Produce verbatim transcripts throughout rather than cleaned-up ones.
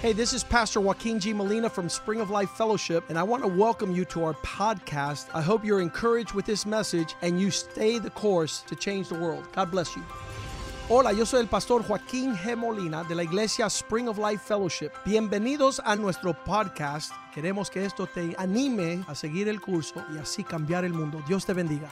Hey, this is Pastor Joaquin G. Molina from Spring of Life Fellowship, and I want to welcome you to our podcast. I hope you're encouraged with this message and you stay the course to change the world. God bless you. Hola, yo soy el pastor Joaquín G. Molina de la iglesia Spring of Life Fellowship. Bienvenidos a nuestro podcast. Queremos que esto te anime a seguir el curso y así cambiar el mundo. Dios te bendiga.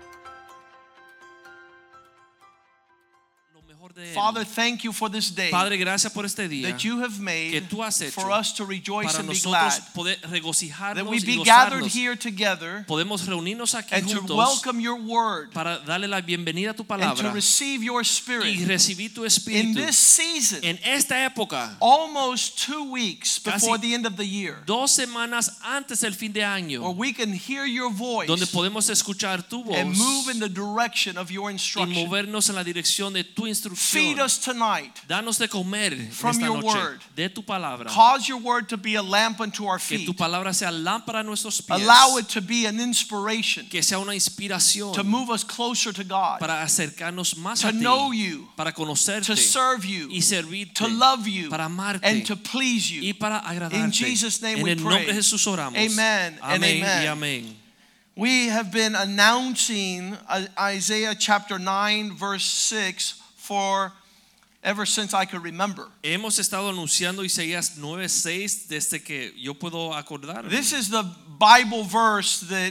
Father, thank you for this day. Padre, gracias por este día that you have made que tú has hecho for us to rejoice para and be nosotros glad. poder regocijarnos That we y be gathered gozarnos. here together Podemos reunirnos aquí and to juntos welcome your word para darle la bienvenida a tu and palabra to receive your y spirit. recibir tu In espíritu. this season, En esta época, almost two weeks Casi before the end of the year, dos semanas antes del fin de where año, we can hear your voice donde podemos escuchar tu voz and move in the direction of your y instruction. movernos en la dirección de tu Feed instrucción. us tonight. Danos de comer From esta your noche word. de tu palabra. Cause your word to be a lamp unto our Que feet. tu palabra sea lámpara a nuestros pies. Allow it to be an inspiration Que sea una inspiración to move us closer to God, para acercarnos más to a ti, know you, para conocerte to serve you, y servirte, to love you, para amarte and to please y you. para agradarte. In Jesus' name en we el nombre pray. de Jesús oramos. Amen and Amén amen. y amén. We have been announcing Isaiah chapter nine verse six for ever since I could remember. Hemos estado anunciando Isaías nueve seis desde que yo puedo acordarme. This is the Bible verse that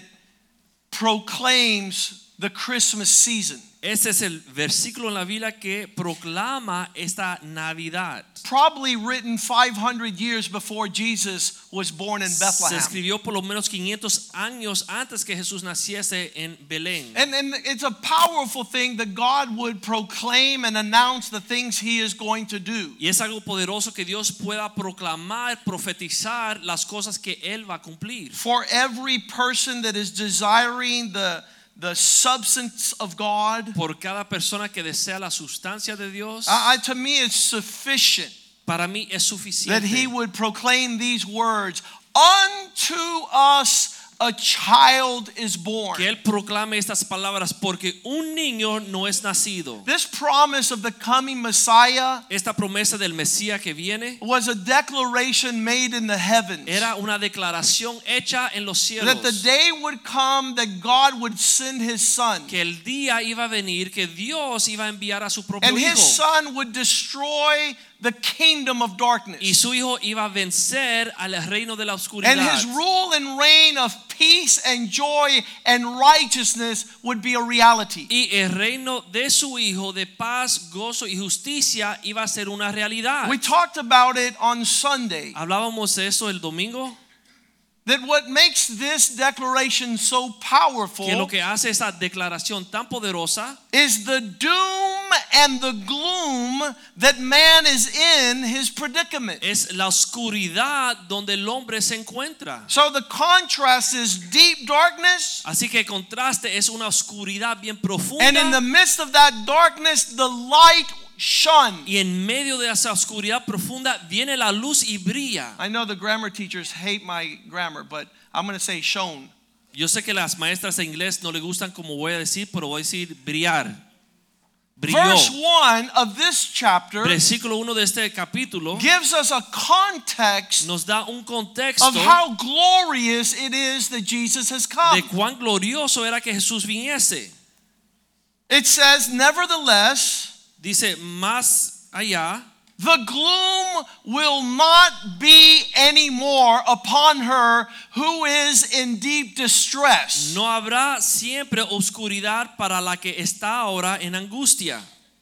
proclaims the Christmas season. Este es el versículo en la Biblia que proclama esta Navidad. Probably written five hundred years before Jesus was born in Se Bethlehem. escribió por lo menos quinientos años antes que Jesús naciese en Belén. And, and it's a powerful thing that God would proclaim and announce the things He is going to do. Y es algo poderoso que Dios pueda proclamar, profetizar las cosas que Él va a cumplir. For every person that is desiring the, the substance of God, Por cada persona que desea la sustancia de Dios, I, I- to me it's sufficient para mí es that suficiente He would proclaim these words, unto us a child is born. que Él proclame estas palabras porque un niño no es nacido. This promise of the coming Messiah Esta promesa del Mesías que viene was a declaration made in the heavens. era una declaración hecha en los cielos. That the day would come that God would send His Son. Que el día iba a venir que Dios iba a enviar a su propio And His hijo Son would destroy the kingdom of darkness. y su hijo iba a vencer al reino de la oscuridad. And His rule and reign of peace and joy and righteousness would be a reality. Y el reino de su hijo de paz, gozo y justicia iba a ser una realidad. We talked about it on Sunday. Hablábamos de eso el domingo. That what makes this declaration so powerful Que lo que hace esa declaración tan poderosa is the doom and the gloom that man is in his predicament. es la oscuridad donde el hombre se encuentra. So the contrast is deep darkness, Así que el contraste es una oscuridad bien and in the profunda midst of that darkness the light shone. y en medio de esa oscuridad profunda viene la luz y brilla. I know the grammar teachers hate my grammar, but I'm going to say shone. Yo sé que las maestras de inglés no le gustan como voy a decir, pero voy a decir brillar. Brilló. Verse one of this chapter Versículo uno de este capítulo gives us a context nos da un of contexto how glorious it is that Jesus has come. de cuán glorioso era que Jesús viniese. It says, nevertheless, Dice más allá, the gloom will not be anymore upon her who is in deep distress. no habrá siempre oscuridad para la que está ahora en angustia.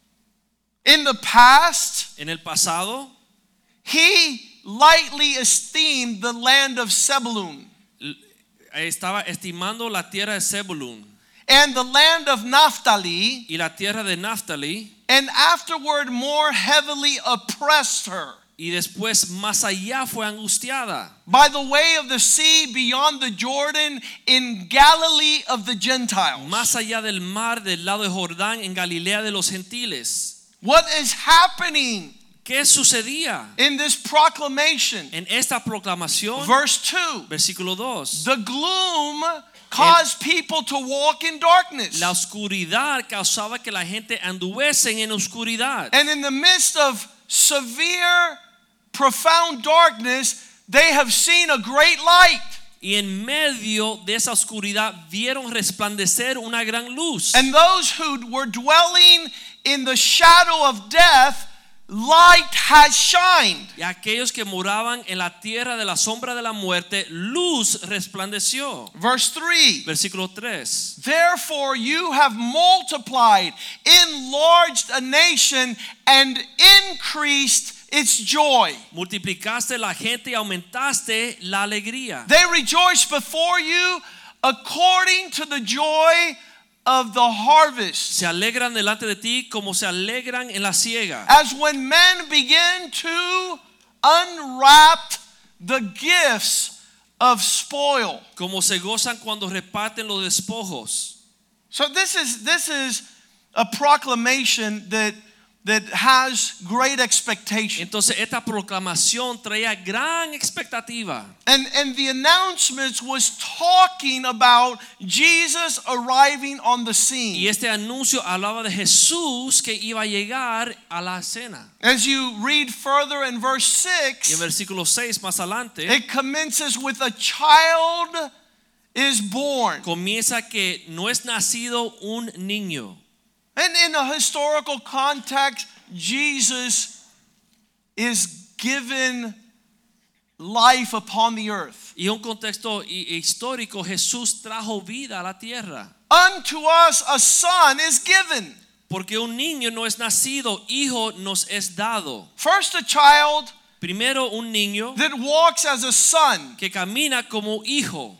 In the past, En el pasado he lightly esteemed the land of Zebulun estaba estimando la tierra de Zebulun and the land of Naphtali, y la tierra de Naftali, and afterward more heavily oppressed her. y después más allá fue angustiada By the way of the sea beyond the Jordan in Galilee of the Gentiles. más allá del mar del lado de Jordán en Galilea de los gentiles. What is happening ¿Qué sucedía in this proclamation? en esta proclamación? Verse two. Versículo dos. The gloom caused people to walk in darkness. La oscuridad causaba que la gente anduviesen en oscuridad. And in the midst of severe profound darkness, they have seen a great light. Y en medio de esa oscuridad vieron resplandecer una gran luz. And those who were dwelling in the shadow of death, light has shined. Y aquellos que moraban en la tierra de la sombra de la muerte, luz resplandeció. Verse three. Versículo tres. Therefore you have multiplied, enlarged a nation, and increased its joy. Multiplicaste la gente y aumentaste la alegría. They rejoice before you according to the joy of the harvest. Se alegran delante de ti como se alegran en la siega. As when men begin to unwrap the gifts of spoil. Como se gozan cuando reparten los despojos. So this is this is a proclamation that that has great expectation. Entonces esta proclamación traía gran expectativa. And and the announcements was talking about Jesus arriving on the scene. Y este anuncio hablaba de Jesús que iba a llegar a la escena. As you read further in verse six, Y en versículo seis más adelante it commences with a child is born. comienza que no es nacido un niño. And in a historical context, Jesus is given life upon the earth. Y en un contexto histórico, Jesús trajo vida a la tierra. Unto us a son is given. Porque un niño no es nacido, hijo nos es dado. First a child Primero un niño that walks as a son. que camina como hijo.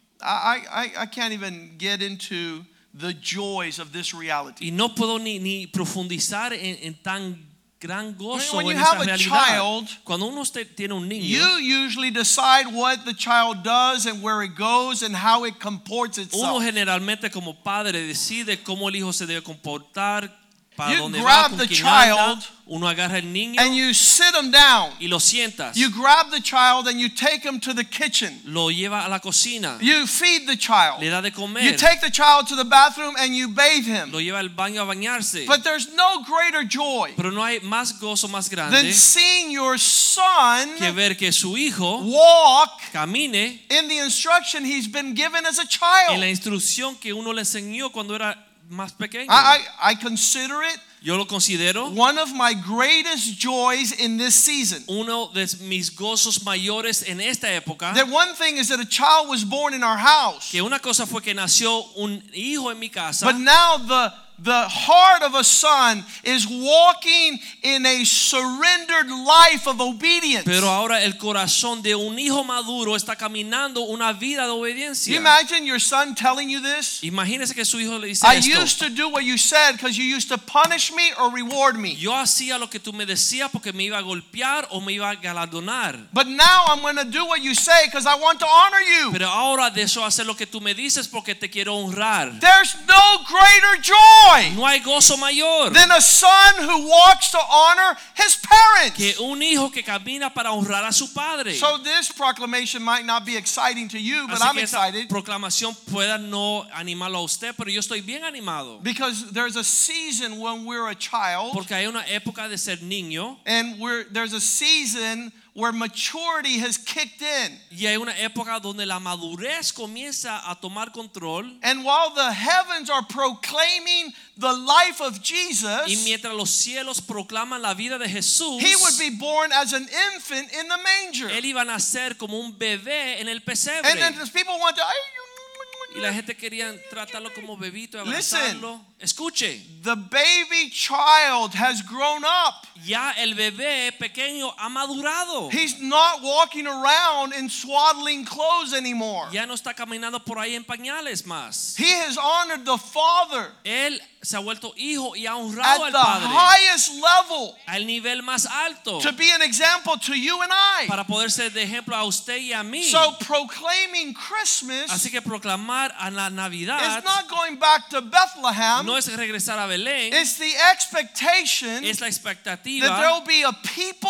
I, I, I can't even get into the joys of this reality. Y no puedo ni, ni profundizar en, en tan gran gozo When you en have esta a realidad. child, Cuando uno usted tiene un niño, You usually decide what the child does and where it goes and how it comports uno itself. generalmente como padre decide cómo el hijo se debe comportar, para You dónde grab va, con the quién child anda. Uno agarra el niño And you sit him down. y lo sientas. You grab the child and you take him to the kitchen. Lo lleva a la cocina. You feed the child. Le da de comer. You take the child to the bathroom and you bathe him. Lo lleva al baño a bañarse. But there's no greater joy Pero no hay más gozo más than grande seeing your son que ver que su hijo walk camine in the instruction he's been given as a en child. la instrucción que uno le enseñó cuando era más pequeño. I, I, I consider it Yo lo considero one of my greatest joys in this season. uno de mis gozos mayores en esta época. That one thing is that a child was born in our house. Que una cosa fue que nació un hijo en mi casa. But now the the heart of a son is walking in a surrendered life of obedience. Pero ahora el corazón de un hijo maduro está caminando una vida de You obediencia. imagine your son telling you this? Imagínese que su hijo le dice I esto. used to do what you said because you used to punish me or reward me. Yo hacía lo que tú me decías porque me iba a golpear o me iba a galardonar. But now I'm going to do what you say because I want to honor you. Pero ahora deseo hacer lo que tú me dices porque te quiero honrar. There's no greater joy No hay gozo mayor than a son who walks to honor his parents. que un hijo que camina para honrar a su padre. So this proclamation might not be exciting to you, but Así I'm que esa excited proclamación pueda no animarlo a usted, pero yo estoy bien animado. because there's a season when we're a child Porque hay una época de ser niño and we're, there's a season where maturity has kicked in. y hay una época donde la madurez comienza a tomar control. And while the heavens are proclaiming the life of Y Jesus, mientras los cielos proclaman la vida de Jesús, he would be born as an infant in the manger. él iba a nacer como un bebé en el pesebre. And then people want to, Y la gente quería tratarlo como bebito y Listen. abrazarlo. Escuche, the baby child has grown up. ya el bebé pequeño ha madurado. He's not walking around in swaddling clothes anymore. Ya no está caminando por ahí en pañales más. He has honored the Father Él se ha vuelto hijo y ha honrado at al the Padre highest level al nivel más alto to be an example to you and I. para poder ser de ejemplo a usted y a mí. So proclaiming Christmas Así que proclamar a la Navidad is not going back to Bethlehem. no es regresar a Belén, It's the expectation es la that there expectativa will be a people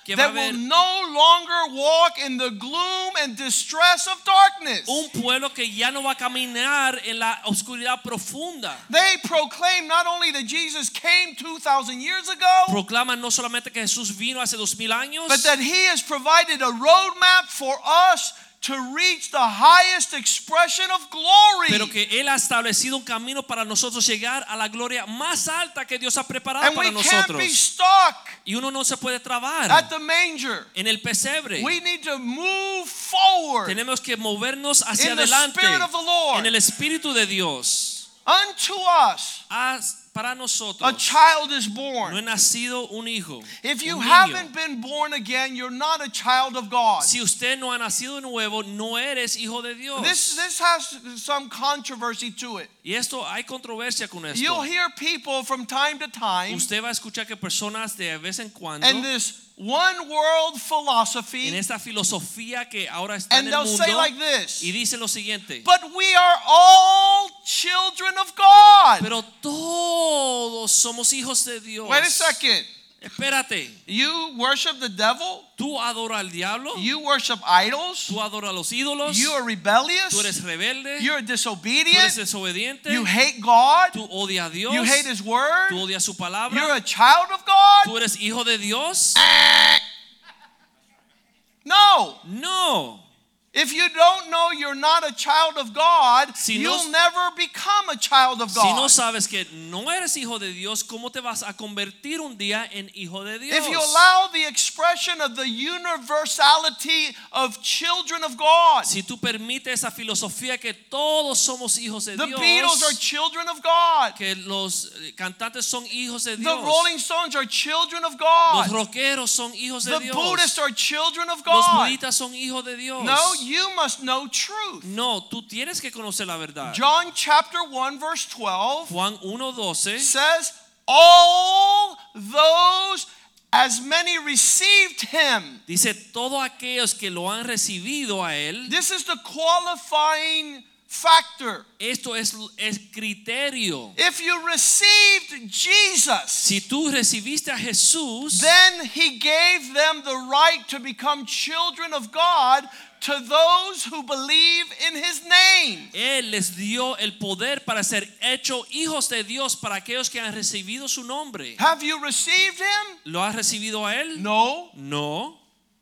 que va a that will haber no longer walk in the gloom and distress of darkness. un pueblo que ya no va a caminar en la oscuridad profunda. They proclaim not only that Jesus came two thousand years ago, Proclaman no solamente que Jesús vino hace dos mil años, but that he has provided a roadmap for us to reach the highest expression of glory. pero que Él ha establecido un camino para nosotros llegar a la gloria más alta que Dios ha preparado And para we can't nosotros. be stuck Y uno no se puede trabar at the manger. en el pesebre. We need to move forward Tenemos que movernos hacia in the adelante Spirit of the Lord. en el Espíritu de Dios. Unto us Haz para a nosotros child is no born. he nacido un hijo. If you un niño. haven't been born again, you're not a child of God. Si usted no ha nacido de nuevo, no eres hijo de Dios. This this has some controversy to it. Y esto hay controversia con esto. You'll hear people from time to time Usted va a escuchar que personas de vez en cuando and this one world en philosophy, esta filosofía que ahora está and en el they'll say mundo like this: y dice lo siguiente: but we are all children of God. pero todos somos hijos de Dios. Wait a second. Espérate, You worship the devil? tú adoras al diablo, You worship idols? tú adoras a los ídolos, You are rebellious? tú eres rebelde, You're tú eres disobedient? desobediente, You hate God? tú odias a Dios, You hate His Word? tú odias su You're palabra, a child of God? tú eres hijo de Dios. No. No. If you don't know you're not a child of God, Si no- you'll never become a child of Si no God. sabes que no eres hijo de Dios, ¿cómo te vas a convertir un día en hijo de Dios? If you allow the expression of the universality of children of God, Si tú permites esa filosofía que todos somos hijos de the Dios, Beatles are children of God. que los cantantes son hijos de The Dios, Rolling Stones are children of los God. rockeros son hijos de The Dios, Buddhists are children of los God. budistas son hijos de Dios. No, you must know truth. No, tú tienes que conocer la verdad. John chapter one verse twelve Juan uno doce says, all those as many received him. dice: todos aquellos que lo han recibido a él. This is the qualifying factor. Esto es el criterio. If you received Jesus, Si tú recibiste a Jesús, then he gave them the right to become children of God to those who believe in his name. Él les dio el poder para ser hechos hijos de Dios para aquellos que han recibido su nombre. Have you received him? ¿Lo has recibido a él? No. No.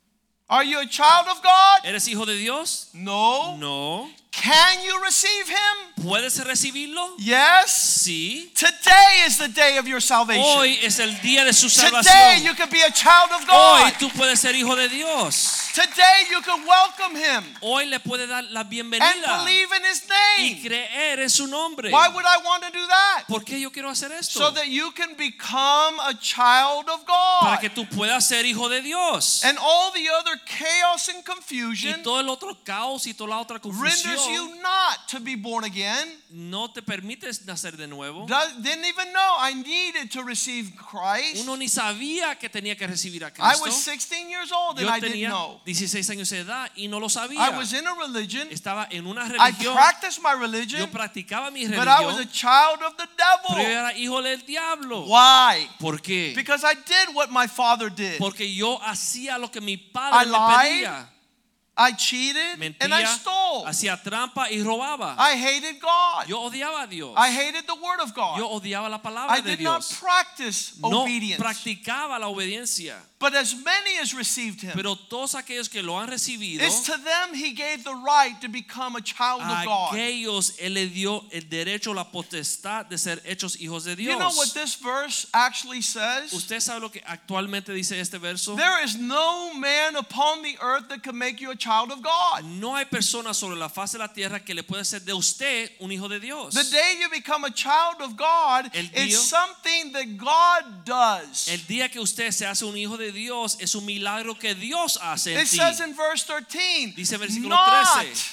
Are you a child of God? ¿Eres hijo de Dios? No. No. Can you receive him? ¿Puedes recibirlo? Yes. Sí. Today is the day of your salvation. Hoy es el día de su Today salvación. you can be a child of Hoy God. tú puedes ser hijo de Dios. Today you can welcome him Hoy le puedes dar la and bienvenida believe in his y name. creer en su nombre. Why would I want to do that? ¿Por qué yo quiero hacer esto? So that you can become a child of Para God. que tú puedas ser hijo de Dios. And all the other chaos and Y confusion todo el otro caos y toda la otra renders confusión you not to be born again. no te permites nacer de nuevo. Does- Didn't even know I needed to receive Christ. Uno ni sabía que tenía que recibir a I was Cristo. sixteen years old and Yo I didn't tenía know. dieciséis años de edad y no lo I sabía. was in a religion. Estaba en una I religión. practiced my Yo religion, practicaba mi but I was a religión, child of the pero yo devil. era hijo del diablo. Why? ¿Por qué? Because I did what my father did. Porque yo hacía lo que mi I padre me lied, pedía. I cheated, and I Mentía, stole. hacía trampa y robaba. I hated God. Yo odiaba a Dios. I hated the word of Yo God. odiaba la palabra I de did not Dios. practice No obedience. practicaba la obediencia. But as many as received him, Pero todos aquellos que lo han recibido, it's to them he gave the right to become a child a of God. aquellos él le dio el derecho, la potestad de ser hechos hijos de Dios. You know what this verse actually says? Usted sabe lo que actualmente dice este verso. There is no man upon the earth that can make you a child of God. No hay persona sobre la faz de la tierra que le pueda hacer de usted un hijo de Dios. The day you become a child of God, El it's día- something that God does. El día que usted se hace un hijo de Dios es un milagro que Dios hace en It ti. says in verse thirteen, Dice versículo not trece.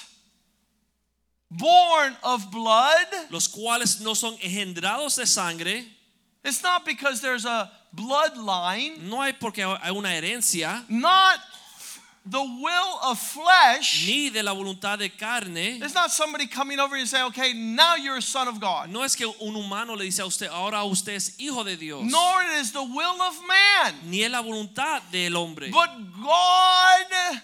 born of blood. Los cuales no son engendrados de sangre. It's not because there's a bloodline, No hay porque hay una herencia. not the will of flesh. ni de la voluntad de carne. It's not somebody coming over and say, okay, now you're a son of God. No es que un humano le dice a usted, ahora usted es hijo de Dios. Nor it is the will of man. Ni es la voluntad del hombre. But God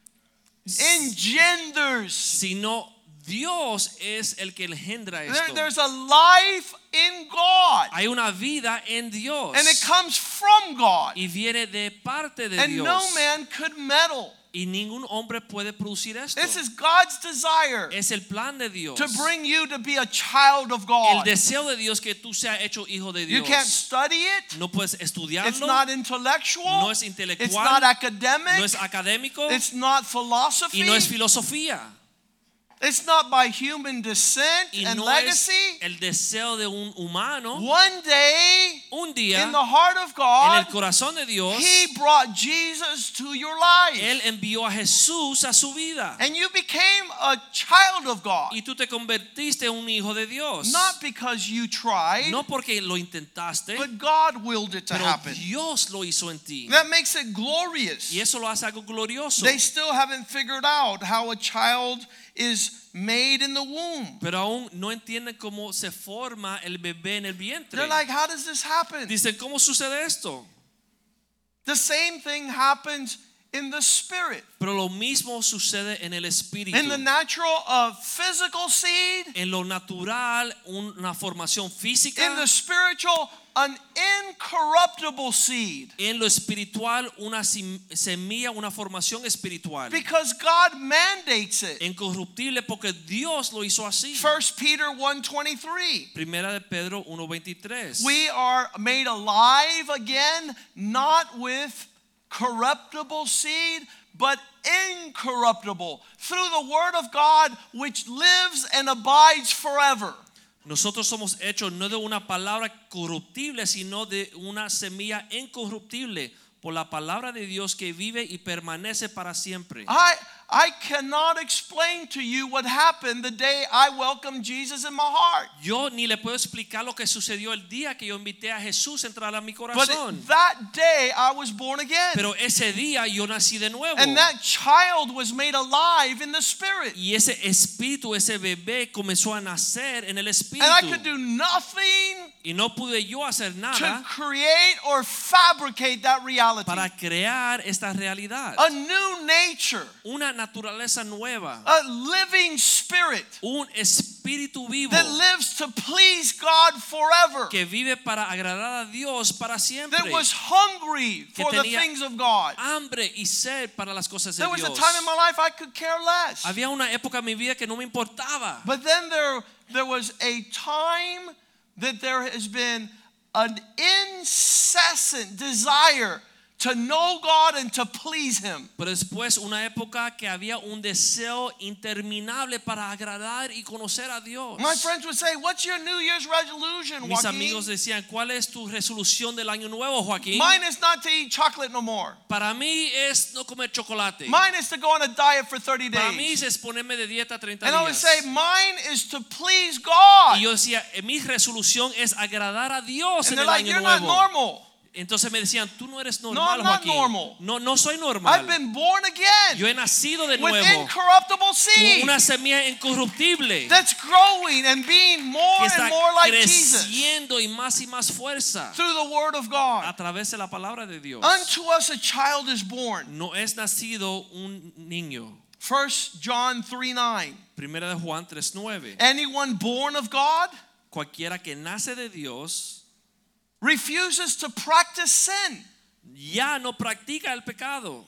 engenders. Sino Dios es el que engendra esto. There, there's a life in God. Hay una vida en Dios. And it comes from God. Y viene de parte de And Dios. no man could meddle. Y ningún hombre puede producir esto. This is God's desire Es el plan de Dios. to bring you to be a child of El God. deseo de Dios que tú seas hecho hijo de You Dios. can't study it. No puedes estudiarlo. It's not intellectual. No es intelectual. It's not academic. No es académico. It's not philosophy. Y no es filosofía. It's not by human descent Y and no legacy. es el deseo de un humano. One day, Un día, in the heart of en God, el corazón de Dios, He brought Jesus to your life. Él envió a Jesús a su vida. And you became a child of God. Y tú te convertiste en un hijo de Dios. Not because you tried, No porque lo intentaste, but God willed it to pero happen. Dios lo hizo en ti. That makes it glorious. Y eso lo hace algo glorioso. They still haven't figured out how a child is made in the womb. Pero aún no entienden cómo se forma el bebé en el vientre. They're like, how does this happen? Dicen, ¿cómo sucede esto? The same thing happens in the spirit. Pero lo mismo sucede en el espíritu. In the natural, uh, physical seed. En lo natural, una formación física. In the spiritual, an incorruptible seed. En lo espiritual, una semilla, una formación espiritual. Because God mandates it. Incorruptible porque Dios lo hizo así. First Peter one twenty-three. Primera de Pedro uno veintitrés. We are made alive again, not with corruptible seed, but incorruptible, through the word of God which lives and abides forever. Nosotros somos hechos no de una palabra corruptible, sino de una semilla incorruptible, por la palabra de Dios que vive y permanece para siempre. I I cannot explain to you what happened the day I welcomed Jesus in my heart. Yo ni le puedo explicar lo que sucedió el día que yo invité a Jesús a entrar a mi But corazón. that day I was born again. Pero ese día yo nací de nuevo. And that child was made alive in the spirit. Y ese espíritu, ese bebé comenzó a nacer en el espíritu. And I could do nothing Y no pude yo hacer to nada create or fabricate that reality. para crear esta realidad. A new nature, Una naturaleza nueva. a living spirit Un espíritu vivo that lives to please God forever, que vive para agradar a Dios para siempre. that was hungry Que for the tenía things of God. hambre y sed para las cosas de There was a Dios. time in my life I could care less. Había una época en mi vida que no me importaba. But then there, there was a time that there has been an incessant desire to know God and to please Him. Pero después una época que había un deseo interminable para agradar y conocer a Dios. My friends would say, what's your New Year's resolution, Mis Joaquin? amigos decían, ¿cuál es tu resolución del año nuevo, Joaquín? Mine is not to eat chocolate no more. Para mí es no comer chocolate. Mine is to go on a diet for thirty Para mí days. es ponerme de dieta treinta And I would días. say, mine is to please God. Y yo decía, eh, mi resolución es agradar a Dios And en they're el like, año you're not nuevo. normal. Entonces me decían, tú no eres No, normal, I'm not Joaquín. normal. No, no soy I've normal. been born again Yo he nacido de with nuevo incorruptible con seed una semilla incorruptible that's growing and being more que and está more like Jesus creciendo y más y más fuerza through the word of God. a través de la palabra de Dios. Unto us a child is born. No es nacido un niño. First John three nine. Primera de Juan tres nueve. Anyone born of God Cualquiera que nace de Dios refuses to practice sin. ya no practica el pecado.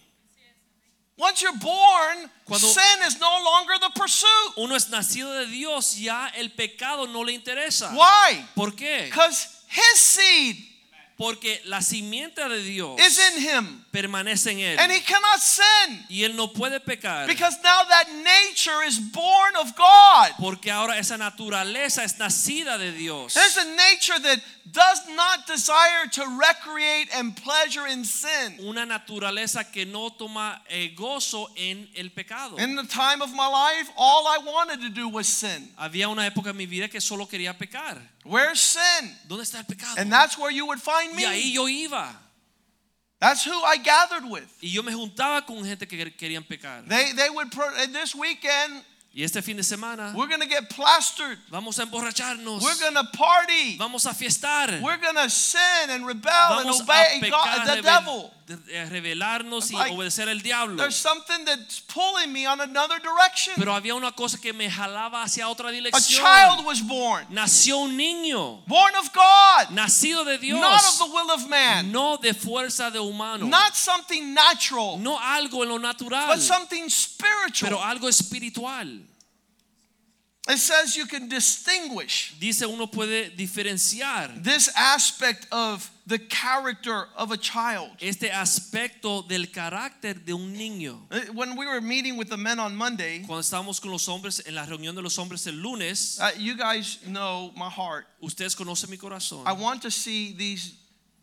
Once you're born, Cuando- sin is no longer the pursuit. Uno es nacido de Dios, ya el pecado no le interesa. Why? ¿Por qué? Because his seed Porque la simiente de Dios is in him permanece en él. and he cannot sin Y él no puede pecar. because now that nature is born of God. Porque ahora esa naturaleza es nacida de Dios. There's a nature that does not desire to recreate and pleasure in sin. Una naturaleza que no toma eh, gozo en el pecado. In the time of my life, all I wanted to do was sin. Había una época en mi vida que solo quería pecar. Where's sin? ¿Dónde está el pecado? And that's where you would find Y ahí me. yo iba. That's That's who I gathered with. Y yo me juntaba con gente que querían pecar. They they would pro- and this weekend Y este fin de semana we're going to get plastered. vamos a emborracharnos. We're going to party. Vamos a fiestar. We're going to sin and rebel Vamos and obey a pecar, God, the rebel- devil. de- rebelarnos y Like, obedecer al diablo. There's something that's pulling me on another direction. Pero había una cosa que me jalaba hacia otra A dirección. child was born, Nació un niño, born of God, nacido de Dios, not of the will of man, no de fuerza de humano, not something natural, no algo en lo natural, but something pero spiritual. algo espiritual. It says you can distinguish Dice uno puede diferenciar this aspect of the character of a child. este aspecto del carácter de un niño. When we were meeting with the men on Monday, Cuando estábamos con los hombres en la reunión de los hombres el lunes, uh, you guys know my heart. ustedes conocen mi corazón. I want to see these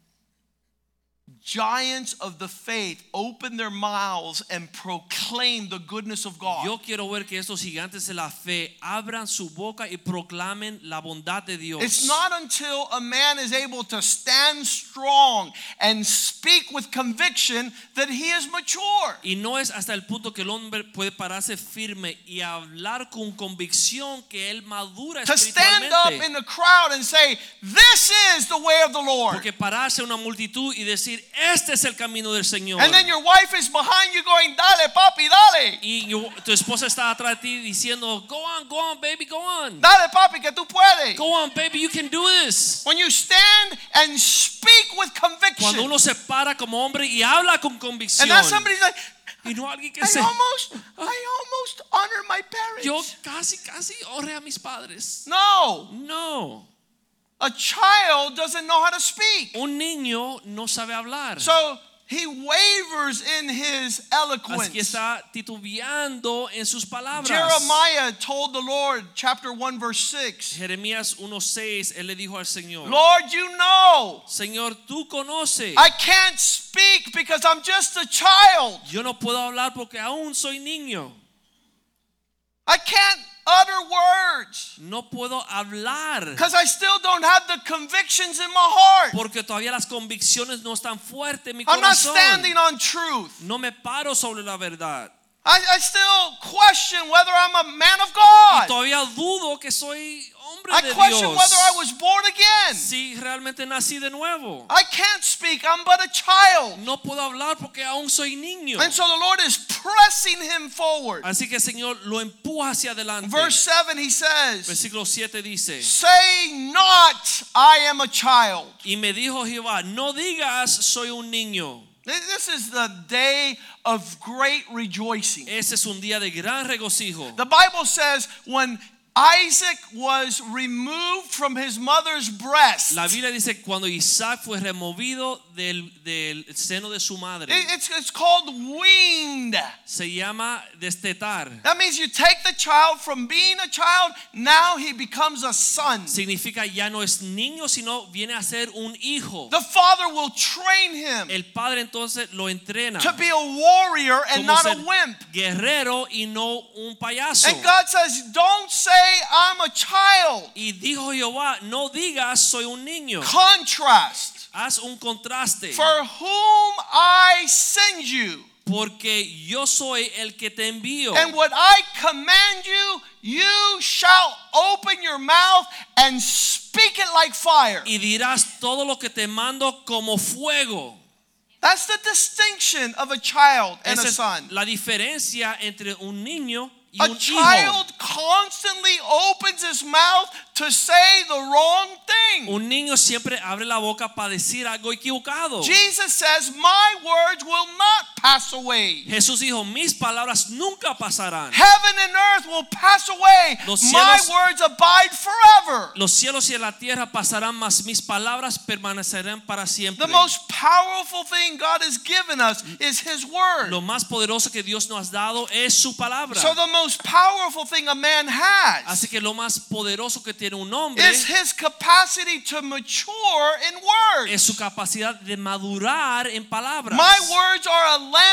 giants of the faith open their mouths and proclaim the goodness of God. Yo quiero ver que estos gigantes de la fe abran su boca y proclamen la bondad de Dios. It's not until a man is able to stand strong and speak with conviction that he is mature. Y no es hasta el punto que el hombre puede pararse firme y hablar con convicción que él madura To stand up espiritualmente. in the crowd and say, "This is the way of the Lord." Porque pararse una multitud y decir, este es el camino del Señor. And then your wife is behind you going, "Dale, papi, dale. Y yo- tu esposa está atrás de ti diciendo, go on, go on, baby, go on. Dale, papi, que tú puedes." Go on, baby, you can do this. When you stand and speak with conviction. Cuando uno se para como hombre y habla con convicción. And now somebody's like, Y no alguien que I se... almost, I almost honor my parents. Yo casi, casi honré a mis padres. No, No. a child doesn't know how to speak. Un niño no sabe hablar. So he wavers in his eloquence. Así que está titubeando en sus palabras. Jeremiah told the Lord, chapter one, verse six, Jeremías uno seis, él le dijo al Señor, Lord, you know, Señor, tú conoces. I can't speak because I'm just a child. Yo no puedo hablar porque aún soy niño. I can't utter words No puedo hablar because I still don't have the convictions in my heart. porque todavía las convicciones no están fuertes en mi I'm not corazón. standing on truth. No me paro sobre la verdad. I, I still question whether I'm a man of Y God. todavía dudo que soy hombre I de question Dios. whether I was born again. Si realmente nací de nuevo. I can't speak. I'm but a child. No puedo hablar porque aún soy niño. And so the Lord is pressing him forward. Así que el Señor lo empuja hacia adelante. Verse seven, he says, Versículo siete dice, say not, I am a child. y me dijo Jehová, no digas soy un niño. This is the day of great rejoicing. Ese es un día de gran regocijo. The Bible says when Isaac was removed from his mother's breast, La Biblia dice cuando Isaac fue removido del, del seno de su madre. it- it's, it's called weaned. Se llama destetar. That means you take the child from being a child, now he becomes a son. Significa ya no es niño, sino viene a ser un hijo. The father will train him El padre entonces lo entrena to be a warrior and como not ser a wimp. guerrero y no un payaso. And God says, don't say I'm a child. Y dijo Jehová, no digas soy un niño. Contrast. Haz un contraste. For whom I send you, Porque yo soy el que te envío. and what I command you, you shall open your mouth and speak it like fire. Y dirás todo lo que te mando como fuego. That's the distinction of a child and Esa a es son. la diferencia entre un niño y A un hijo. child constantly opens his mouth to say the wrong thing. Un niño siempre abre la boca para decir algo equivocado. Jesus says, my words will not pass away. Jesús dijo, mis palabras nunca pasarán. Heaven and earth will pass away. Los My cielos- words abide forever. Los cielos y la tierra pasarán, mas mis palabras permanecerán para siempre. The most powerful thing God has given us is His word. Lo más poderoso que Dios nos ha dado es su palabra. So the most powerful thing a man has Así que lo más poderoso que tiene un hombre is his capacity to mature in words. es su capacidad de madurar en palabras. My words are a lamp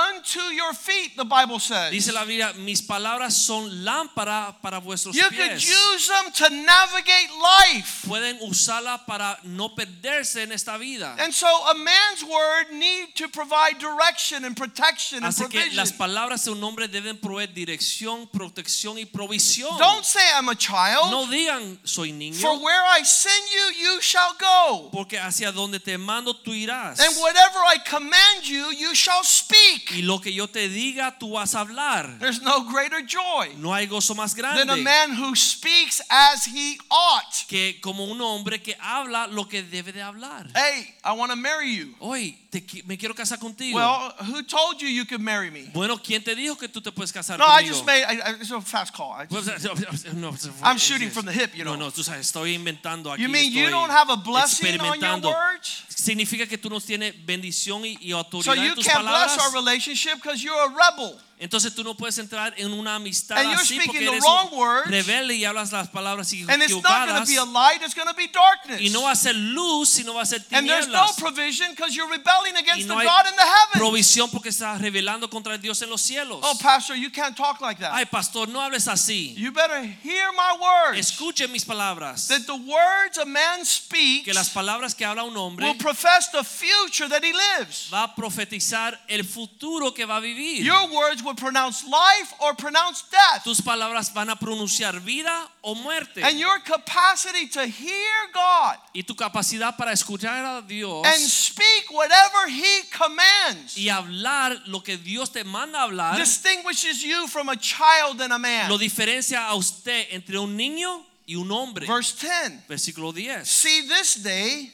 unto your feet, the Bible says. Dice la Biblia, mis palabras son lámpara para vuestros You could pies. use them to navigate life. Pueden usarla para no perderse en esta vida. And so a man's word need to provide direction and protection and Así que provision. las palabras de un hombre deben proveer dirección, protección y provisión. Don't say I'm a child. No digan soy niño, For where I send you, you shall go. porque hacia donde te mando tú irás. And whatever I command you, you shall speak. Y lo que yo te diga tú vas a hablar. There's no greater joy No hay gozo más than a grande man who speaks as he ought. que como un hombre que habla lo que debe de hablar. Hey, I want to marry you. Hoy te, qui- me quiero casar contigo. Well, who told you you could marry me? Bueno, ¿quién te dijo que tú te puedes casar No, I conmigo? just made, I, I, it's a fast call. I Pues, just, no, I'm shooting from the hip, you know. No, no, tú sabes, estoy inventando aquí. You mean you estoy don't have a blessing on your experimentando. words? Significa que tú no tienes bendición y, y So autoridad you en tus can't bless palabras. our relationship because you're a rebel. Entonces tú no puedes entrar en una amistad And you're así speaking porque the eres wrong un words. rebelde y hablas las palabras And it's not going to equivocadas. be a light, it's going to be darkness. Y no va a ser luz, sino va a ser And there's no tinieblas. provision because you're rebelling Y against no the hay God in the heavens. provisión porque estás rebelando contra el Dios en los cielos. Oh, Pastor, you can't talk like that. Ay, pastor, no hables así. You better hear my words. Escuche mis palabras. That the words a man speaks Que las palabras que habla un hombre will profess the future that he lives. va a profetizar el futuro que va a vivir. Your words will pronounce life or pronounce death. Tus palabras van a pronunciar vida o muerte. And your capacity to hear God Y tu capacidad para escuchar a Dios and speak whatever he commands y hablar lo que Dios te manda a hablar distinguishes you from a child and a man. lo diferencia a usted entre un niño y un hombre. Verse ten. Versículo diez. See, this day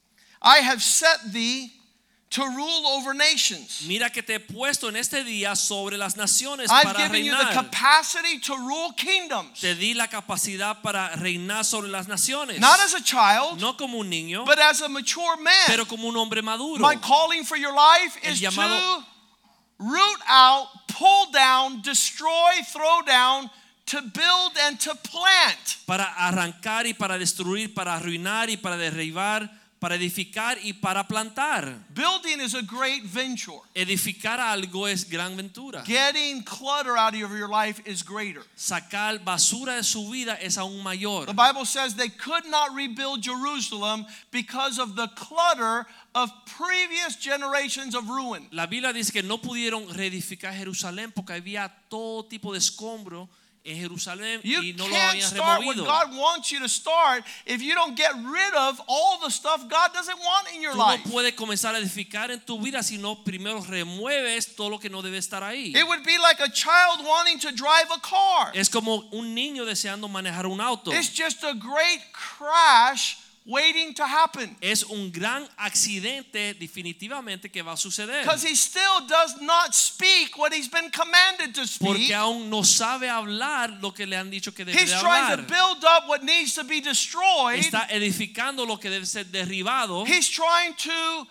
I have set thee to rule over nations. Mira que te he puesto en este día sobre las naciones I've para given you the reinar. capacity to rule kingdoms. Te di la capacidad para reinar sobre las naciones. Not as a child, No como un niño, but as a mature man. pero como un hombre maduro. My calling for your life El is llamado- to root out, pull down, destroy, throw down, to build and to plant. Para arrancar y para destruir, para arruinar y para derribar, para edificar y para plantar. Building is a great venture. Edificar algo es gran ventura. Getting clutter out of your life is greater. Sacar basura de su vida es aún mayor. The Bible says they could not rebuild Jerusalem because of the clutter of previous generations of ruin. La Biblia dice que no pudieron reedificar Jerusalén porque había todo tipo de escombro en Jerusalén You y no lo can't habían start what removido. God wants you to start if you don't get rid of all the stuff God doesn't want in your Tú no life. puedes comenzar a edificar en tu vida si no primero remueves todo lo que no debe estar ahí. It would be like a child wanting to drive a car. Es como un niño deseando manejar un auto. It's just a great crash waiting to happen. Es un gran accidente definitivamente que va a suceder. Because he still does not speak what he's been commanded to speak. Porque aún no sabe hablar lo que le han dicho que debe He's de trying to hablar. build up what needs to be destroyed. Está edificando lo que debe ser derribado. He's trying to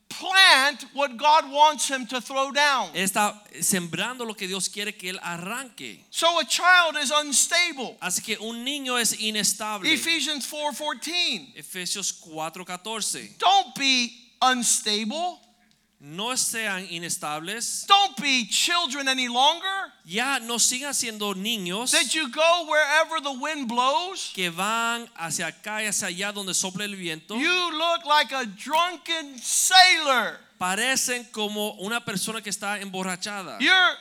plant what God wants him to throw down. Está sembrando lo que Dios quiere que él arranque. So a child is unstable. Así que un niño es inestable. Ephesians four fourteen. Efesios cuatro catorce. Don't be unstable. No sean inestables. Don't be children any longer. Ya no sigan siendo niños That you go wherever the wind blows. que van hacia acá y hacia allá donde sopla el viento. You look like a drunken sailor. Parecen como una persona que está emborrachada. You're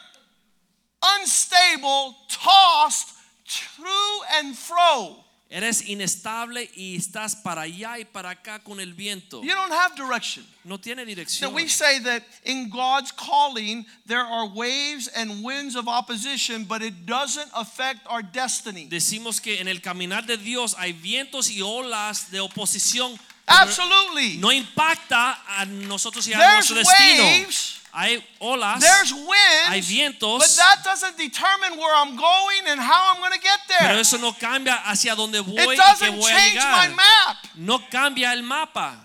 unstable, tossed to and fro. Eres inestable y estás para allá y para acá con el viento. You don't have direction. No tiene Now dirección. we say that in God's calling there are waves and winds of opposition, but it doesn't affect our destiny. Decimos que en el caminar de Dios hay vientos y olas de oposición. Absolutely. No impacta a nosotros y a There's nuestro destino. waves. Hay olas, There's hay winds, vientos, but that doesn't determine where I'm going and how I'm going to get pero there. eso no cambia hacia dónde voy It y que doesn't voy a change my llegar. map. No cambia el mapa.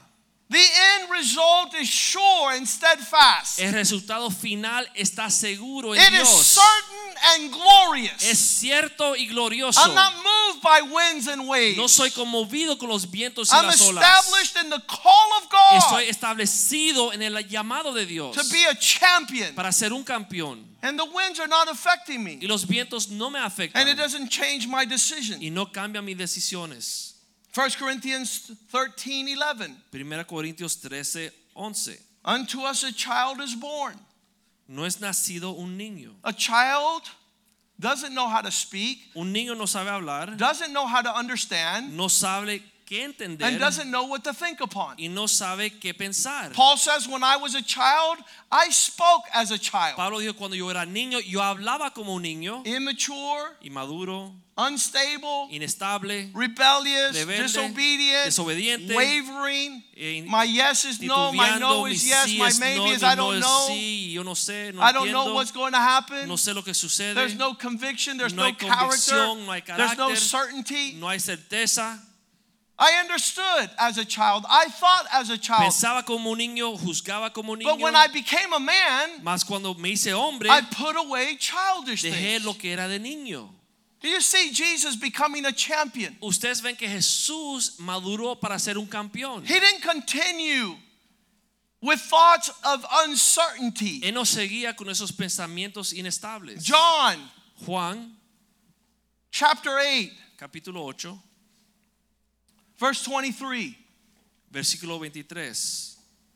The end result is sure and steadfast. El resultado final está seguro en It is Dios. certain and glorious. Es cierto y glorioso. I'm not moved by winds and waves. No soy conmovido con los vientos y I'm las olas. established in the call of God Estoy establecido en el llamado de Dios to be a champion. para ser un campeón. And the winds are not affecting me. Y los vientos no me afectan. And it doesn't change my decision. Y no cambia mis decisiones. First Corinthians thirteen eleven. Primera Corintios trece once. Unto us a child is born. No es nacido un niño. A child doesn't know how to speak, Un niño no sabe hablar, doesn't know how to understand, no sabe qué entender and doesn't know what to think upon. y no sabe qué pensar. Paul says, when I was a child, I spoke as a child. Pablo dijo, cuando yo era niño, yo hablaba como un niño, Immature, inmaduro, unstable, inestable, rebellious, rebelde, disobedient, desobediente, wavering. eh, My yes is no, my titubeando, no mi is yes, sí my es maybe no, is mi I no don't es know. sí, yo no sé, no I don't know entiendo, what's going to happen. no sé lo que sucede, There's no conviction, there's no no hay character, convicción, no hay there's no carácter, certainty. no hay certeza. I understood as a child. I thought as a child. Pensaba como un niño, juzgaba como un niño, But when I became a man, mas cuando me hice hombre, I put away childish dejé things. lo que era de niño. Do you see Jesus becoming a champion? Ustedes ven que Jesús maduró para ser un campeón. He didn't continue with thoughts of uncertainty. Él no seguía con esos pensamientos inestables. John Juan, chapter eight, capítulo ocho, verse twenty-three. versículo veintitrés.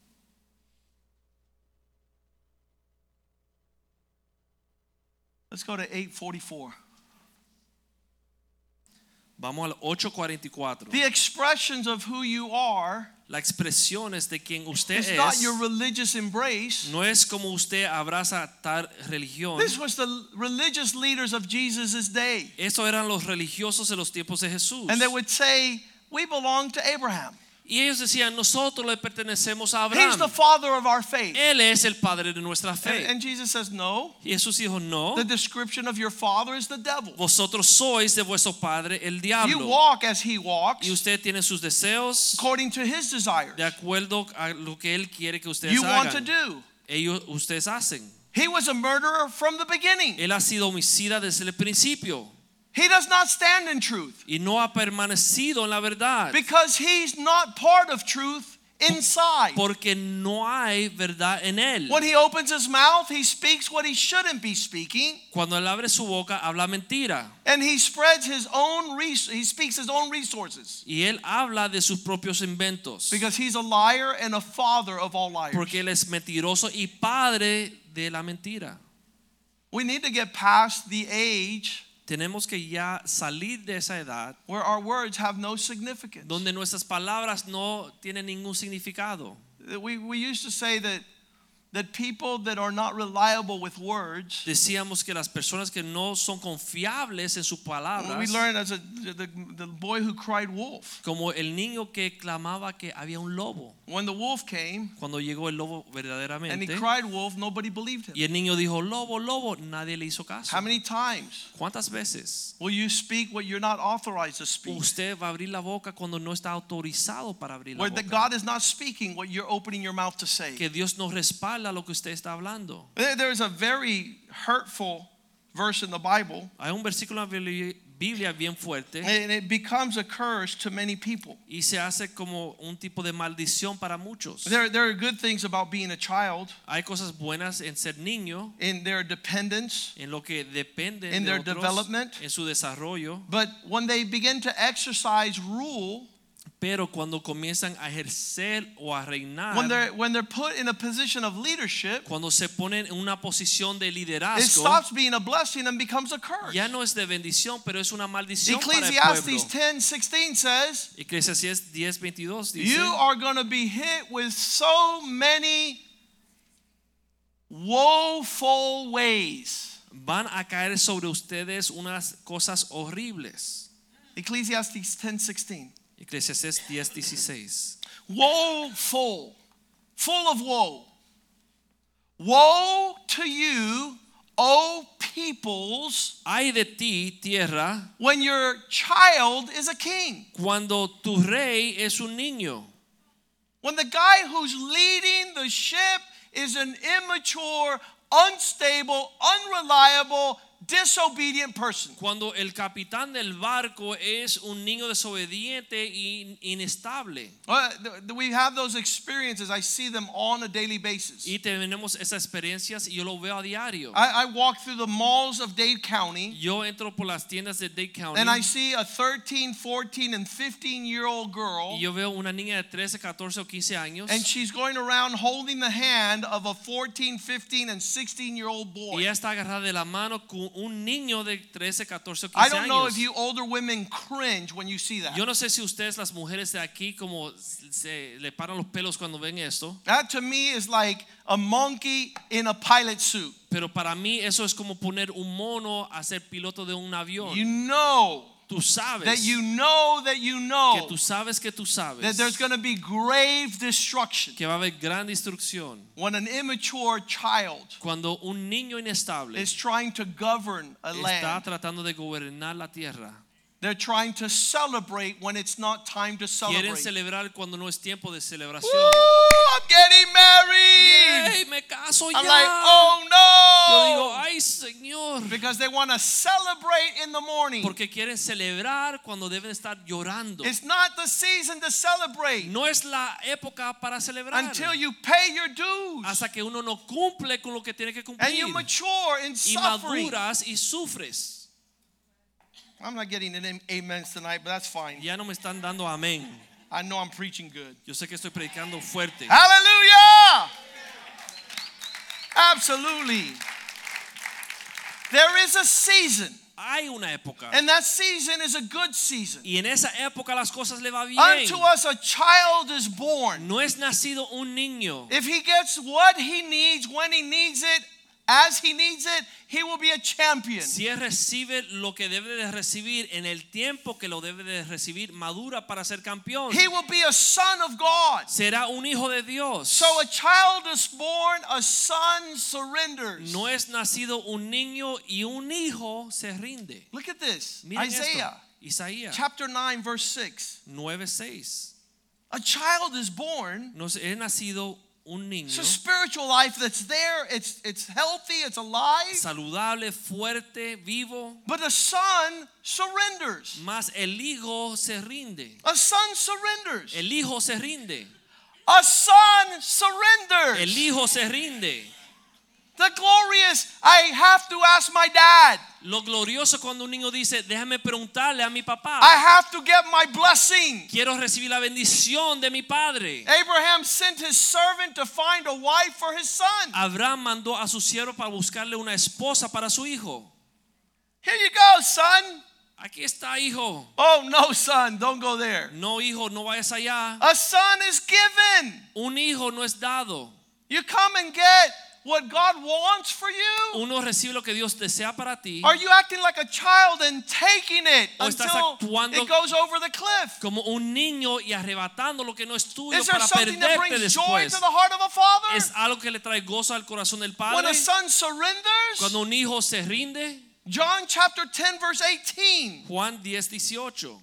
Let's go to eight forty-four. Vamos al ocho cuarenta y cuatro. The expressions of who you are Las expresiones de quien usted is not es your religious embrace. no es como usted abraza tal religión. This was the religious leaders of Jesus' day. Estos eran los religiosos de los tiempos de Jesús. And they would say, we belong to Abraham. Y ellos decían, nosotros le pertenecemos a He's the Abraham. father of our faith. Él es el padre de nuestra And, fe. and Jesus says, no, Y Jesús dijo, no, the description of your father is the devil. vosotros sois de vuestro padre el You diablo. walk as he walks, Y usted tiene sus deseos according to his desires. de acuerdo a lo que él quiere que ustedes You want to hagan. do. Ellos, ustedes hacen. He was a murderer from the beginning. Él ha sido homicida desde el principio He does not stand in truth y no ha permanecido en la verdad because he's not part of truth inside. porque no hay verdad en él. When he opens his mouth, he speaks what he shouldn't be speaking, Cuando él abre su boca habla mentira and he spreads his own res- he speaks his own resources y él habla de sus propios inventos because he's a liar and a father of all liars. porque él es mentiroso y padre de la mentira. We need to get past the age Tenemos que ya salir de esa edad where our words have no significance. donde nuestras palabras no tienen ningún significado. We, we used to say that, that people that are not reliable with words, Decíamos que las personas que no son confiables en sus palabras, we learned as a, the, the boy who cried wolf. como el niño que clamaba que había un lobo. When the wolf came Cuando llegó el lobo and he verdaderamente cried wolf, nobody believed him. y el niño dijo lobo, lobo, nadie le hizo caso. How many times ¿Cuántas veces will you speak what you're not authorized to speak? usted va a abrir la boca cuando no está autorizado para abrir la Where the boca? God is not speaking what you're opening your mouth to say. Que Dios no respalda lo que usted está hablando. There- There's a very hurtful verse in the Bible, Hay un versículo en la Biblia bien fuerte and it becomes a curse to many people. y se hace como un tipo de maldición para muchos. There, there are good things about being a child, Hay cosas buenas en ser niño, in their dependence, en lo que depende In de their otros, development. en su desarrollo, but when they begin to exercise rule, pero cuando comienzan a ejercer o a reinar, when they're when they're put in a position of leadership, cuando se ponen en una posición de it liderazgo, stops being a blessing and becomes a curse. ya no es de bendición, pero es una maldición para el Ecclesiastes pueblo. ten sixteen says, Eclesiastés diez veintidós dice, you are going to be hit with so many woeful ways. van a caer sobre ustedes unas cosas horribles. Ecclesiastes ten sixteen. Eclesiastés diez dieciséis. Woeful, full of woe. Woe to you, O peoples, Ay de ti, tierra, when your child is a king. cuando tu rey es un niño. When the guy who's leading the ship is an immature, unstable, unreliable, disobedient person. Cuando el capitán del barco es un niño desobediente y inestable. Uh, th- we have those experiences. I see them on a daily basis. Y tenemos esas experiencias y yo lo veo a diario. I, I walk through the malls of Dade County. Yo entro por las tiendas de Dade County. And I see a thirteen, fourteen, and fifteen year old girl. Y yo veo una niña de trece, catorce o quince años. And she's going around holding the hand of a fourteen, fifteen, and sixteen year old boy. Y ella está agarrada de la mano con un niño de trece, catorce o I quince don't know años. if you older women cringe when you see that. Yo no sé si ustedes las mujeres de aquí como se le paran los pelos cuando ven esto. That to me is like a monkey in a pilot suit. Pero para mí eso es como poner un mono a ser piloto de un avión. You know Tú sabes that you know that you know que tú sabes que tú sabes that there's going to be grave destruction que va a haber gran destrucción when an immature child cuando un niño inestable is trying to govern a está land. tratando de gobernar la tierra. They're trying to celebrate when it's not time to Quieren celebrate. celebrar cuando no es tiempo de celebración. Woo, I'm getting married. ¡Ey, me caso ya! I'm like, oh no. Yo digo, ay Señor, Because they want to celebrate in the morning. porque quieren celebrar cuando deben estar llorando. It's not the season to celebrate No es la época para celebrar until you pay your dues hasta que uno no cumple con lo que tiene que and you cumplir mature in y suffering. maduras y sufres. I'm not getting an amen tonight, but that's fine. Ya no me están dando amén. I know I'm preaching good. Yo sé que estoy predicando fuerte. Hallelujah! Absolutely. There is a season, Hay una época and that season is a good season. y en esa época las cosas le va bien. Unto us a child is born. No es nacido un niño. If he gets what he needs when he needs it, as he needs it, he will be a champion. Si él recibe lo que debe de recibir en el tiempo que lo debe de recibir, madura para ser campeón. He will be a son of God. Será un hijo de Dios. So a child is born, a son surrenders. No es nacido un niño y un hijo se rinde. Look at this. Miren Isaiah esto. Isaías chapter nine verse six. nueve seis. A child is born. No es nacido un niño It's a spiritual life that's there. It's it's healthy, it's alive. saludable, fuerte, vivo. But a son surrenders. Más el hijo se rinde. A son surrenders. El hijo se rinde. A son surrenders. El hijo se rinde. The glorious, I have to ask my dad. Lo glorioso cuando un niño dice, déjame preguntarle a mi papá. I have to get my blessing. Quiero recibir la bendición de mi padre. Abraham sent his servant to find a wife for his son. Abraham mandó a su siervo para buscarle una esposa para su hijo. Here you go, son. Aquí está, hijo. Oh, no, son, don't go there. No, hijo, no vayas allá. A son is given. Un hijo no es dado. You come and get what God wants for you. Uno recibe lo que Dios desea para ti. Are you acting like a child and taking it O estás until actuando it goes over the cliff? Como un niño y arrebatando lo que no es tuyo Is there para something that perderte brings joy después. to the heart of a father? Es algo que le trae gozo al corazón del When padre. a son surrenders? Cuando un hijo se rinde. John chapter ten verse eighteen. Juan diez dieciocho.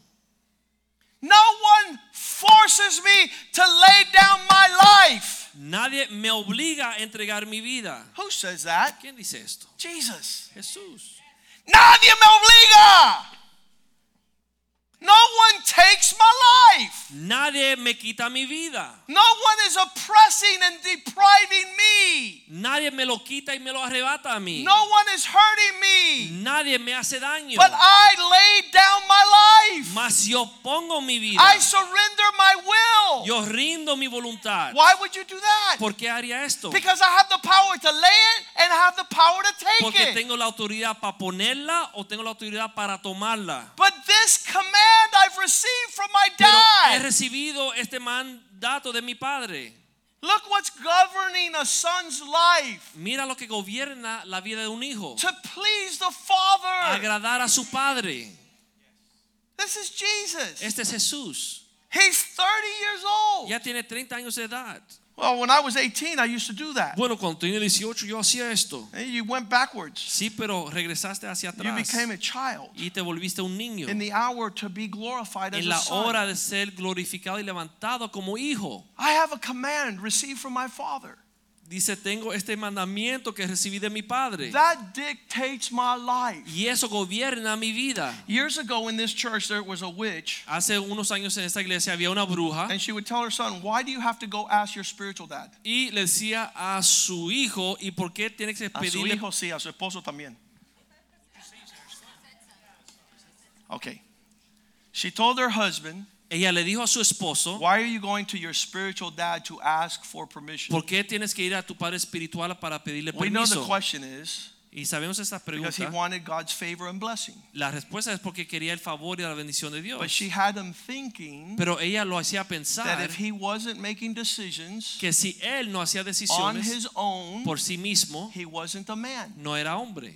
No one forces me to lay down my life. Nadie me obliga a entregar mi vida. Who says that? ¿Quién dice esto? Jesus. Jesús. Nadie me obliga. No one takes my life. Nadie me quita mi vida. No one is oppressing and depriving me. Nadie me lo quita y me lo arrebata a mí. No one is hurting me. Nadie me hace daño. But I laid down my life. Mas yo pongo mi vida. I surrender my will. Yo rindo mi voluntad. Why would you do that? ¿Por qué haría esto? Because I have the power to lay it and I have the power to take Porque it. tengo la autoridad para ponerla o tengo la autoridad para tomarla. But this command I've received from my Pero he dad. recibido este mandato de mi padre. Look what's governing a son's life. Mira lo que gobierna la vida de un hijo. To please the Father. Agradar a su padre. This is Jesus. Este es Jesús. He's thirty years old. Ya tiene treinta años de edad. Well, when I was eighteen, I used to do that. Bueno, cuando tenía dieciocho yo hacía esto. And you went backwards. Sí, pero regresaste hacia You atrás. became a child. Y te volviste un niño. In the hour to be glorified as En a la son. hora de ser glorificado y levantado como hijo. I have a command received from my Father. Dice, tengo este mandamiento que recibí de mi padre. That dictates my life. Y eso gobierna mi vida. Years ago in this church there was a witch, Hace unos años en esta iglesia había una bruja and she would tell her son, "Why do you have to go ask your spiritual dad?" y le decía a su hijo, ¿y por qué tiene que A su pedirle? hijo sí, a su esposo también. Okay. She told her husband, Ella le dijo a su esposo, "Why are you going to your spiritual dad to ask for permission?" ¿por qué tienes que ir a tu padre espiritual para pedirle We know the permiso? question is Y sabemos esta because he pregunta. wanted God's favor and blessing. La respuesta es porque quería el favor y la bendición de Dios. But she had him thinking Pero ella lo hacía that pensar if he wasn't making decisions que si él no hacía on decisiones his own, por sí mismo, he wasn't a man. no era hombre.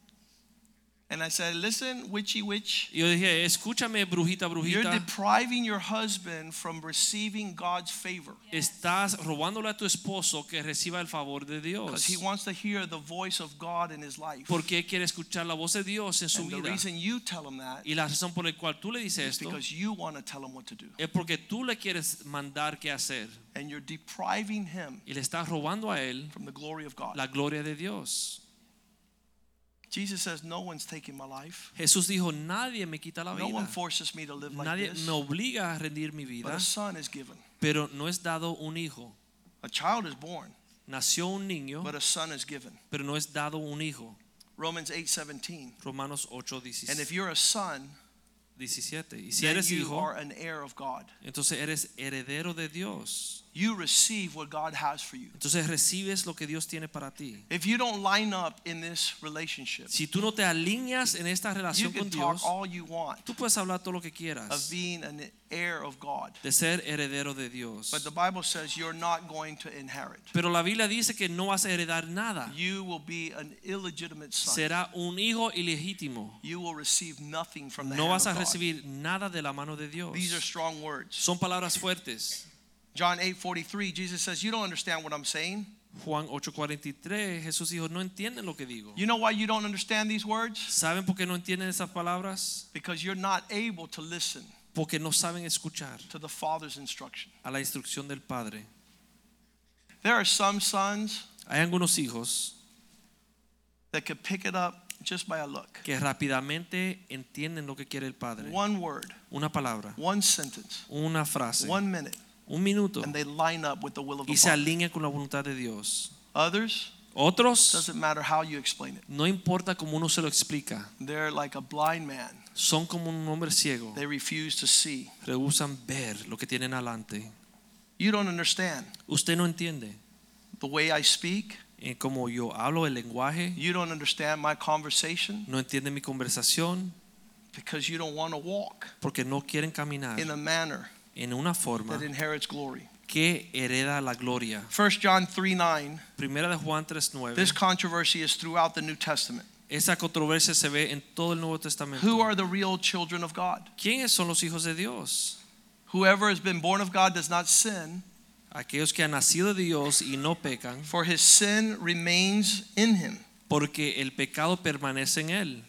And I said, "Listen, witchy witch, Y yo dije, escúchame, brujita, you're brujita, depriving your husband from receiving God's favor estás robándole a tu esposo que reciba el favor de because Dios. he wants to hear the voice of God in his life." Porque él quiere escuchar la voz de Dios en su And the vida. reason you tell him that Y la razón por la cual tú le dices is esto because you want to tell him what to do. es porque tú le quieres mandar qué hacer. And you're depriving him Y le estás robando a él from the glory of God. la gloria de Dios. Jesus says, "No one's taking my life. Jesús dijo, nadie me quita la No one vida. forces me to live like Nadie this. me obliga a rendir mi But vida. a son is given. Pero no es dado un hijo. A child is born, Nació un niño, but a son is given." pero no es dado un hijo. Romans eight seventeen. Romanos ocho, And if you're a son, diecisiete. Y si then eres you hijo, are an heir of God. entonces eres heredero de Dios. You receive what God has for you. Entonces recibes lo que Dios tiene para ti. If you don't line up in this relationship, Si tú no te alineas en esta you relación can con talk Dios, all you want tú puedes hablar todo lo que of quieras being an heir of God. de ser heredero de Dios. But the Bible says you're not going to inherit. Pero la Biblia dice que no vas a heredar nada. You will be an illegitimate son. Será un hijo ilegítimo. You will receive nothing from the No hand vas a of God. recibir nada de la mano de Dios. These are strong words. Son palabras fuertes. John eight forty-three, Jesus says, "You don't understand what I'm saying." Juan ocho cuarenta y tres, Jesús dijo, no entienden lo que digo. You know why you don't understand these words? ¿Saben por qué no entienden esas palabras? Because you're not able to listen Porque no saben escuchar to the Father's instruction. a la instrucción del Padre. There are some sons Hay algunos hijos that could pick it up just by a look. que rápidamente entienden lo que quiere el Padre. One word, Una palabra, one sentence, una frase, one minute, un minuto and they line up with the will of the y se Father. alinean con la voluntad de Dios. Others, Otros, doesn't matter how you explain it. no importa cómo uno se lo explica, They're like a blind man. son como un hombre ciego. They refuse to see. Rehusan ver lo que tienen adelante. You don't understand Usted no entiende the way I speak. eh, como yo hablo el lenguaje, You don't understand my conversation no entiende mi conversación because you don't want to walk porque no quieren caminar in a manner en una forma that inherits glory. que hereda la gloria. First John three nine. Primera de Juan tres nueve. This controversy is throughout the New Testament. Esa controversia se ve en todo el Nuevo Testamento. Who are the real children of God? ¿Quiénes son los hijos de Dios? Whoever has been born of God does not sin, Aquellos que han nacido de Dios y no pecan, for his sin remains in him. porque el pecado permanece en él.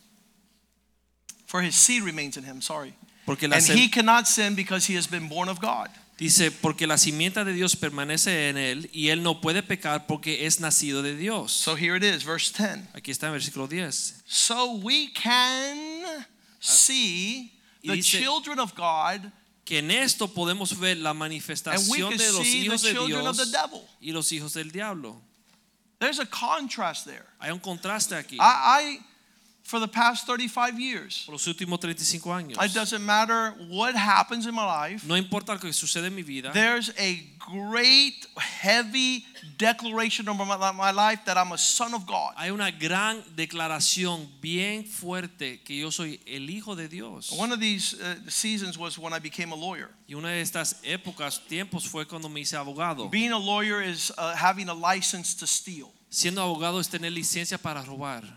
For his seed remains in him, sorry. Porque la And sem- he cannot sin because he has been born of God. Dice, porque la simiente de Dios permanece en él y él no puede pecar porque es nacido de Dios. So here it is, verse ten. Aquí está en versículo diez. So we can see y the dice- children of God, Que en esto podemos ver la and we manifestación can de los see the hijos de children of the Dios devil. y los hijos del diablo. There's a contrast there. Hay un contraste aquí. I, I for the past thirty-five years, Por los últimos treinta y cinco años. it doesn't matter what happens in my life. No importa lo que sucede en mi vida. There's a great, heavy declaration over my, my life that I'm a son of God. Hay una gran declaración bien fuerte que yo soy el hijo de Dios. One of these uh, seasons was when I became a lawyer. Y una de estas épocas, tiempos fue cuando me hice abogado. Being a lawyer is uh, having a license to steal. Siendo abogado es tener licencia para robar.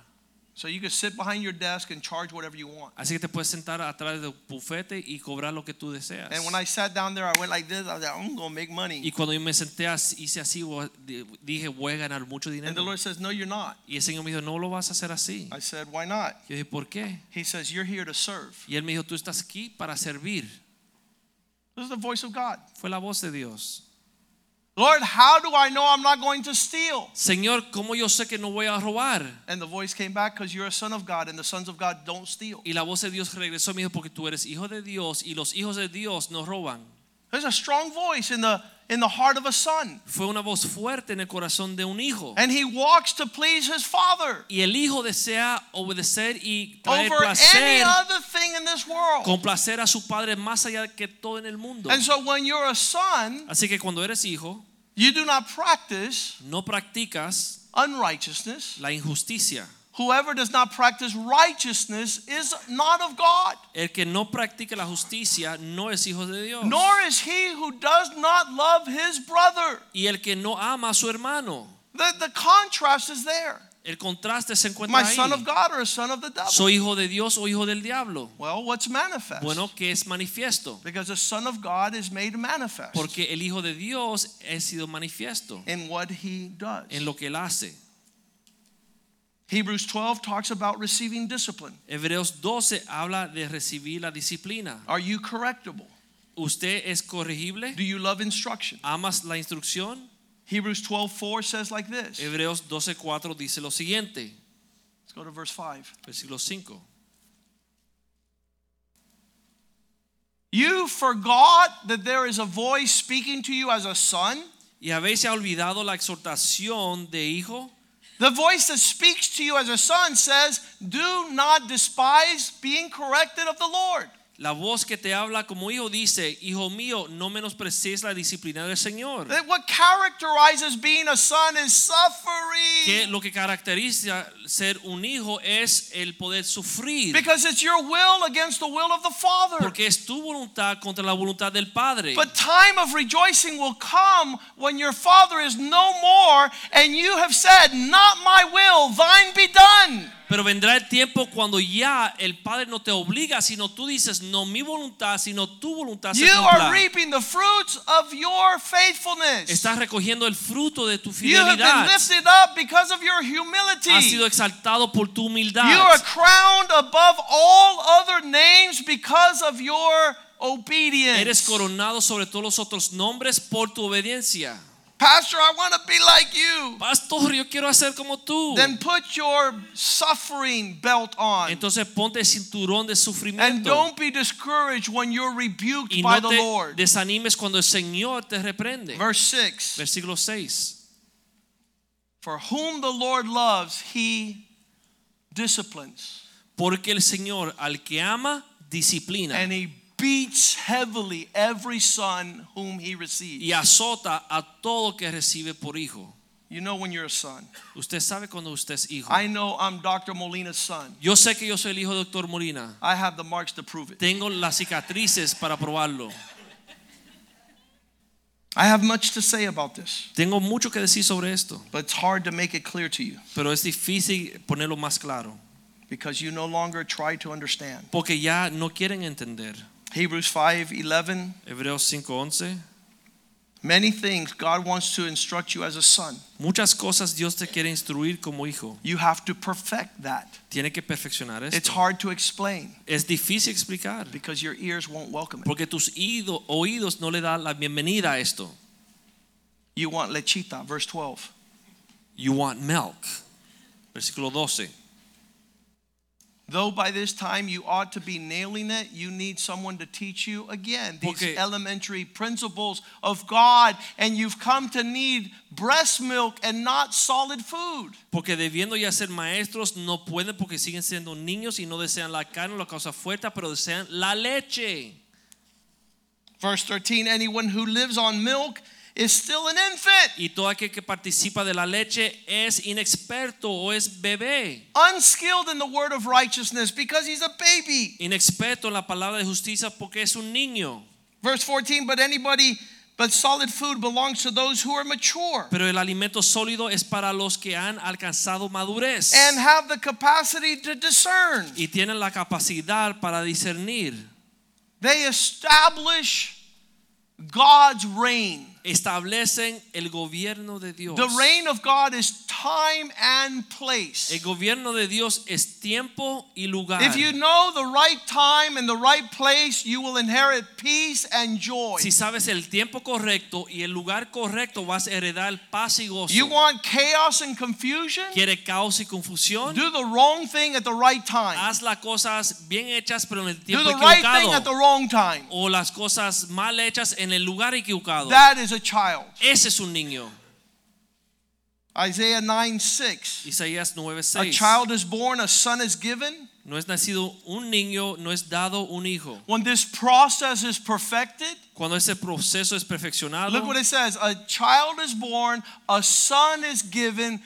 So you can sit behind your desk and charge whatever you want. Así que te puedes sentar atrás del bufete y cobrar lo que tú deseas. And when I sat down there, I went like this. I was like, I'm going to make money. Y cuando yo me senté hice así, dije voy a ganar mucho dinero. And the Lord says, no, you're not. Y el Señor me dijo, no lo vas a hacer así. I said, why not? Yo dije, ¿por qué? He says, you're here to serve. Y él me dijo, tú estás aquí para servir. This is the voice of God. Fue la voz de Dios. Lord, how do I know I'm not going to steal? Señor, ¿cómo yo sé que no voy a robar? And the voice came back, because you're a son of God, and the sons of God don't steal. Y la voz de Dios regresó y me dijo, porque tú eres hijo de Dios y los hijos de Dios no roban. There's a strong voice in the in the heart of a son. Fue una voz fuerte en el corazón de un hijo. And he walks to please his father Y el hijo desea obedecer y traer over any placer, other thing in this world. complacer a su padre más allá que todo en el mundo. And so when you're a son, Así que cuando eres hijo, you do not practice no practicas unrighteousness. la injusticia. Whoever does not practice righteousness is not of God, El que no practica la justicia no es hijo de Dios. nor is he who does not love his brother. Y el que no ama a su hermano. The, the contrast is there. El contraste se encuentra My ahí. son of God or a son of the devil? ¿Soy hijo de Dios o hijo del diablo? Well, what's manifest? Bueno, que es manifiesto. Because the son of God is made manifest Porque el hijo de Dios ha sido manifiesto in what he does. en lo que él hace. Hebrews twelve talks about receiving discipline. Hebreos doce habla de recibir la disciplina. Are you correctable? ¿Usted es corregible? Do you love instruction? ¿Amas la instrucción? Hebrews twelve four says like this. Hebreos doce cuatro dice lo siguiente. Let's go to verse five. Versículo cinco. You forgot that there is a voice speaking to you as a son? ¿Y habéis olvidado la exhortación de hijo? The voice that speaks to you as a son says, do not despise being corrected of the Lord. La voz que te habla como hijo dice, hijo mío, no menosprecies la disciplina del Señor. That what characterizes being a son is suffering. Que lo que caracteriza ser un hijo es el poder sufrir. Because it's your will against the will of the Father. Porque es tu voluntad contra la voluntad del Padre. But time of rejoicing will come when your Father is no more and you have said, not my will, thine be done. Pero vendrá el tiempo cuando ya el Padre no te obliga, sino tú dices, no mi voluntad, sino tu voluntad se You cumpla. are reaping the fruits of your faithfulness. Estás recogiendo el fruto de tu You have been fidelidad. lifted up because of your humility. Has sido exaltado por tu humildad. You are crowned above all other names because of your obedience. Eres coronado sobre todos los otros nombres por tu obediencia. Pastor, I want to be like you. Pastor, yo quiero hacer como tú. Then put your suffering belt on. Entonces ponte el cinturón de And sufrimiento. don't be discouraged when you're rebuked Y by no the te Lord. desanimes cuando el Señor te reprende. Verse six. Versículo seis. For whom the Lord loves, he disciplines. Porque el Señor al que ama, disciplina. And he beats heavily every son whom he receives. Y azota a todo que recibe por hijo. You know when you're a son. Usted sabe cuando usted es hijo. I know I'm Doctor Molina's son. Yo sé que yo soy el hijo de Doctor Molina. I have the marks to prove it. Tengo las cicatrices para probarlo. I have much to say about this, Tengo mucho que decir sobre esto, but it's hard to make it clear to you pero es difícil ponerlo más claro, because you no longer try to understand. porque ya no quieren entender. Hebrews five eleven. Hebreos cinco once. Many things God wants to instruct you as a son. Muchas cosas Dios te quiere instruir como hijo. You have to perfect that. Tiene que perfeccionar It's esto. hard to explain Es difícil explicar, because your ears won't welcome it. porque tus oído- oídos no le dan la bienvenida a esto. You want lechita, verse twelve. You want milk. Versículo doce. Though by this time you ought to be nailing it, you need someone to teach you again these Porque- elementary principles of God, and you've come to need breast milk and not solid food. Porque debiendo ya ser maestros, no pueden porque siguen siendo niños y no desean la carne o la cosa fuerte, pero desean la leche. Verse thirteen, anyone who lives on milk is still an infant, Y todo aquel que participa de la leche es inexperto o es bebé. unskilled in the word of righteousness because he's a baby. Inexperto en la palabra de justicia porque es un niño. Verse fourteen, but anybody But solid food belongs to those who are mature Pero el alimento sólido es para los que han alcanzado madurez and have the capacity to discern. y tienen la capacidad para discernir. They establish God's reign. Establecen el gobierno de Dios. The reign of God is time and place. El gobierno de Dios es tiempo y lugar. If you know the right time and the right place, you will inherit peace and joy. Si sabes el tiempo correcto y el lugar correcto, vas a heredar paz y gozo. You want chaos and confusion? ¿Quiere caos y confusión? Do the wrong thing at the right time. Haz las cosas bien hechas pero en el Do tiempo the right equivocado. thing at the wrong time. O las cosas mal hechas en el lugar equivocado. That is a child. Ese es un niño. Isaiah nine six. Isaías nueve A seis. child is born, a son is given. No es nacido un niño, no es dado un hijo. When this process is perfected, Cuando ese proceso es perfeccionado, look what it says. A child is born, a son is given,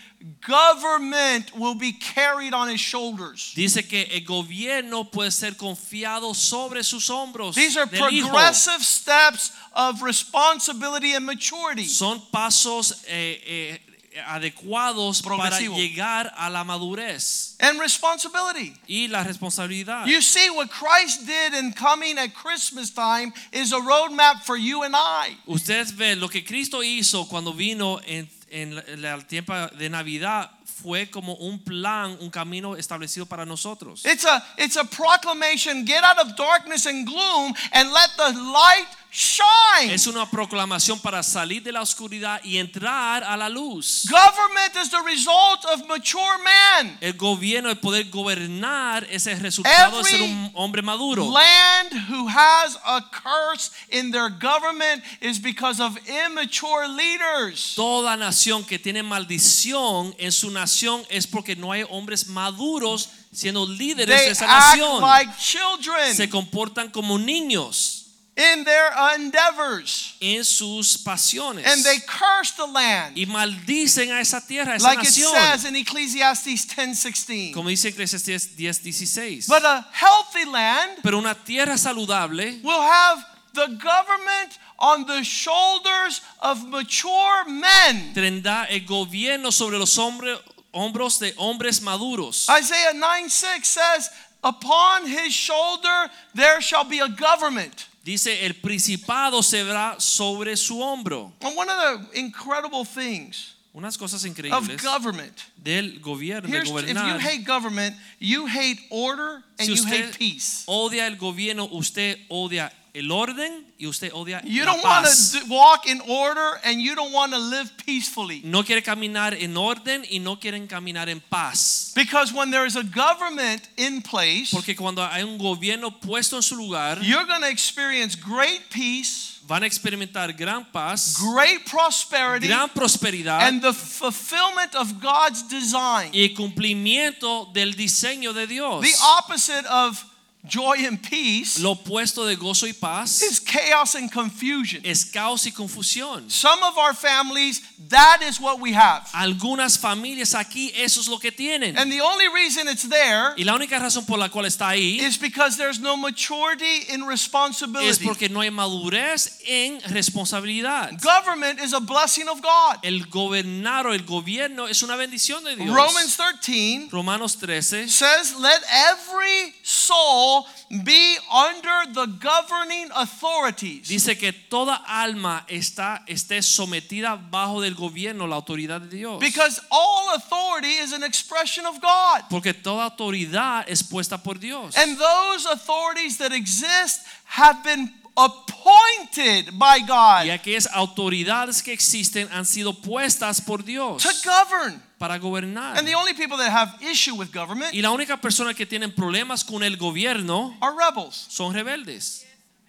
government will be carried on his shoulders. dice que el gobierno puede ser confiado sobre sus hombros. These are del hijo. progressive steps of responsibility and maturity. Son pasos eh, eh, adecuados para Progresivo. llegar a la madurez And responsibility. y la responsabilidad. You see, what Christ did in coming at Christmas time is a roadmap for you and I. Ustedes ven lo que Cristo hizo cuando vino en, en el tiempo de Navidad fue como un plan, un camino establecido para nosotros. It's a, it's a proclamation, get out of darkness and gloom and let the light shine. Es una proclamación para salir de la oscuridad y entrar a la luz. Government is the result of mature man. El gobierno, el poder gobernar, es el resultado de ser un hombre maduro. Land who has a curse in their government is because of immature leaders. Toda nación que tiene maldición en su nación es porque no hay hombres maduros siendo líderes They de esa act nación. like children Se comportan como niños in their endeavors, en sus pasiones and they curse the land, y maldicen a esa tierra, a esa like it nación. says in Ecclesiastes ten sixteen. Como dice Eclesiastés diez dieciséis. But a healthy land Pero una tierra saludable will have the government on the shoulders of mature men. tendrá el gobierno sobre los hombres, hombros de hombres maduros. Isaiah nine six says, upon his shoulder there shall be a government. Dice, el principado se verá sobre su hombro. And one of the incredible things Unas cosas of increíbles government, del gobierno, de here's, if you gobernar. hate government, you hate order and Si you usted hate peace. odia el gobierno, usted odia el orden y usted odia You la don't want paz. to walk in order and you don't want to live peacefully. No quiere caminar en orden y no quieren caminar en paz. Because when there is a government in place, Porque cuando hay un gobierno puesto en su lugar, you're going to experience great peace, van a experimentar gran paz, great prosperity, gran prosperidad and the fulfillment of God's design. y cumplimiento del diseño de Dios. The opposite of joy and peace Lo opuesto de gozo y paz is chaos and confusion. es caos y confusión. Some of our families, that is what we have. Algunas familias aquí eso es lo que tienen. And the only reason it's there Y la única razón por la cual está ahí is because there's no maturity in es responsibility. porque no hay madurez en responsabilidad. Government is a blessing of God. El gobernar o el gobierno es una bendición de Dios. Romans thirteen Romanos trece says, let every soul be under the governing authorities. dice que toda alma está esté sometida bajo del gobierno, la autoridad de Dios. Because all authority is an expression of God. Porque toda autoridad es puesta por Dios. And those authorities that exist have been appointed by God Y aquellas autoridades que existen han sido puestas por Dios to govern. para gobernar. And the only people that have issue with government Y la única persona que tienen problemas con el gobierno are rebels. son rebeldes.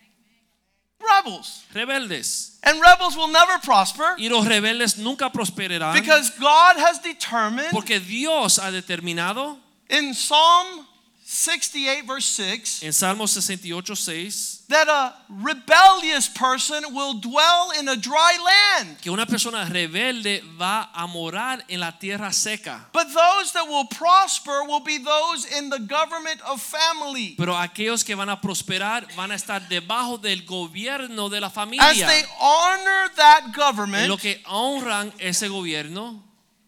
Rebels. Rebeldes. And rebels will never prosper Y los rebeldes nunca prosperarán because God has determined porque Dios ha determinado in Psalm sixty-eight verse six, En Salmo sesenta y ocho, seis, that a rebellious person will dwell in a dry land, que una persona rebelde va a morar en la tierra seca. but those that will prosper will be those in the government of family. Pero aquellos que van a prosperar van a estar debajo del gobierno de la As familia. they honor that En government, lo que honran ese gobierno,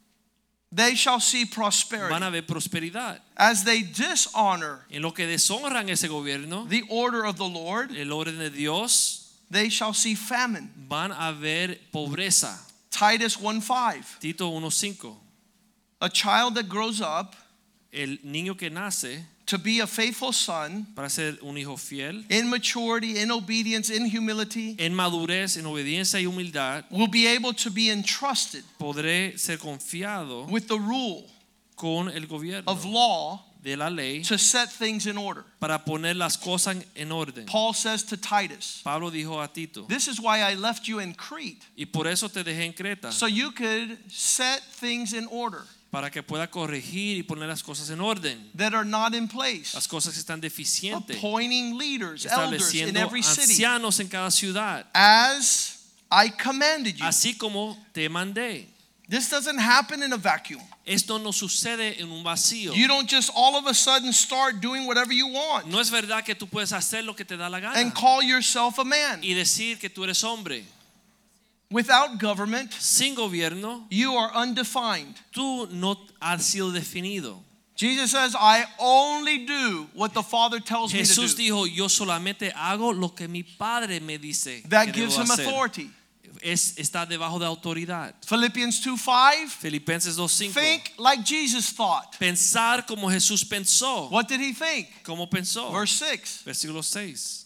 they shall see van prosperity. a ver prosperidad. As they dishonor En lo que deshonran ese gobierno, the order of the Lord, el orden de Dios, they shall see famine. van a ver pobreza. Titus one five. Tito uno cinco. A child that grows up El niño que nace to be a faithful son, para ser un hijo fiel, in maturity, in obedience, in humility, en madurez, en obediencia y humildad, will be able to be entrusted podré ser confiado with the rule con el gobierno of law de la ley to set things in order. para poner las cosas en orden. Paul says to Titus, Pablo dijo a Tito, this is why I left you in Crete, y por eso te dejé en Creta, so you could set things in order para que pueda corregir y poner las cosas en orden, that are not in place, las cosas que están deficientes, appointing leaders, elders in estableciendo every city, ancianos en cada ciudad, as I commanded you. así como te mandé. This doesn't happen in a vacuum. Esto no sucede en un vacío. You don't just all of a sudden start doing whatever you want No es verdad que tú puedes hacer lo que te da la gana and call yourself a man. y decir que tú eres hombre. Without government, Sin gobierno, you are undefined. tú no has sido definido. Jesus says, I only do what the Father tells me to Jesús do. dijo, yo solamente hago lo que mi Padre me dice That que gives debo him hacer. authority. Es, está debajo de autoridad. Philippians two five, Filipenses dos cinco. think like Jesus thought. Pensar como Jesús pensó. What did he think? ¿Cómo pensó? Verse six. Versículo seis.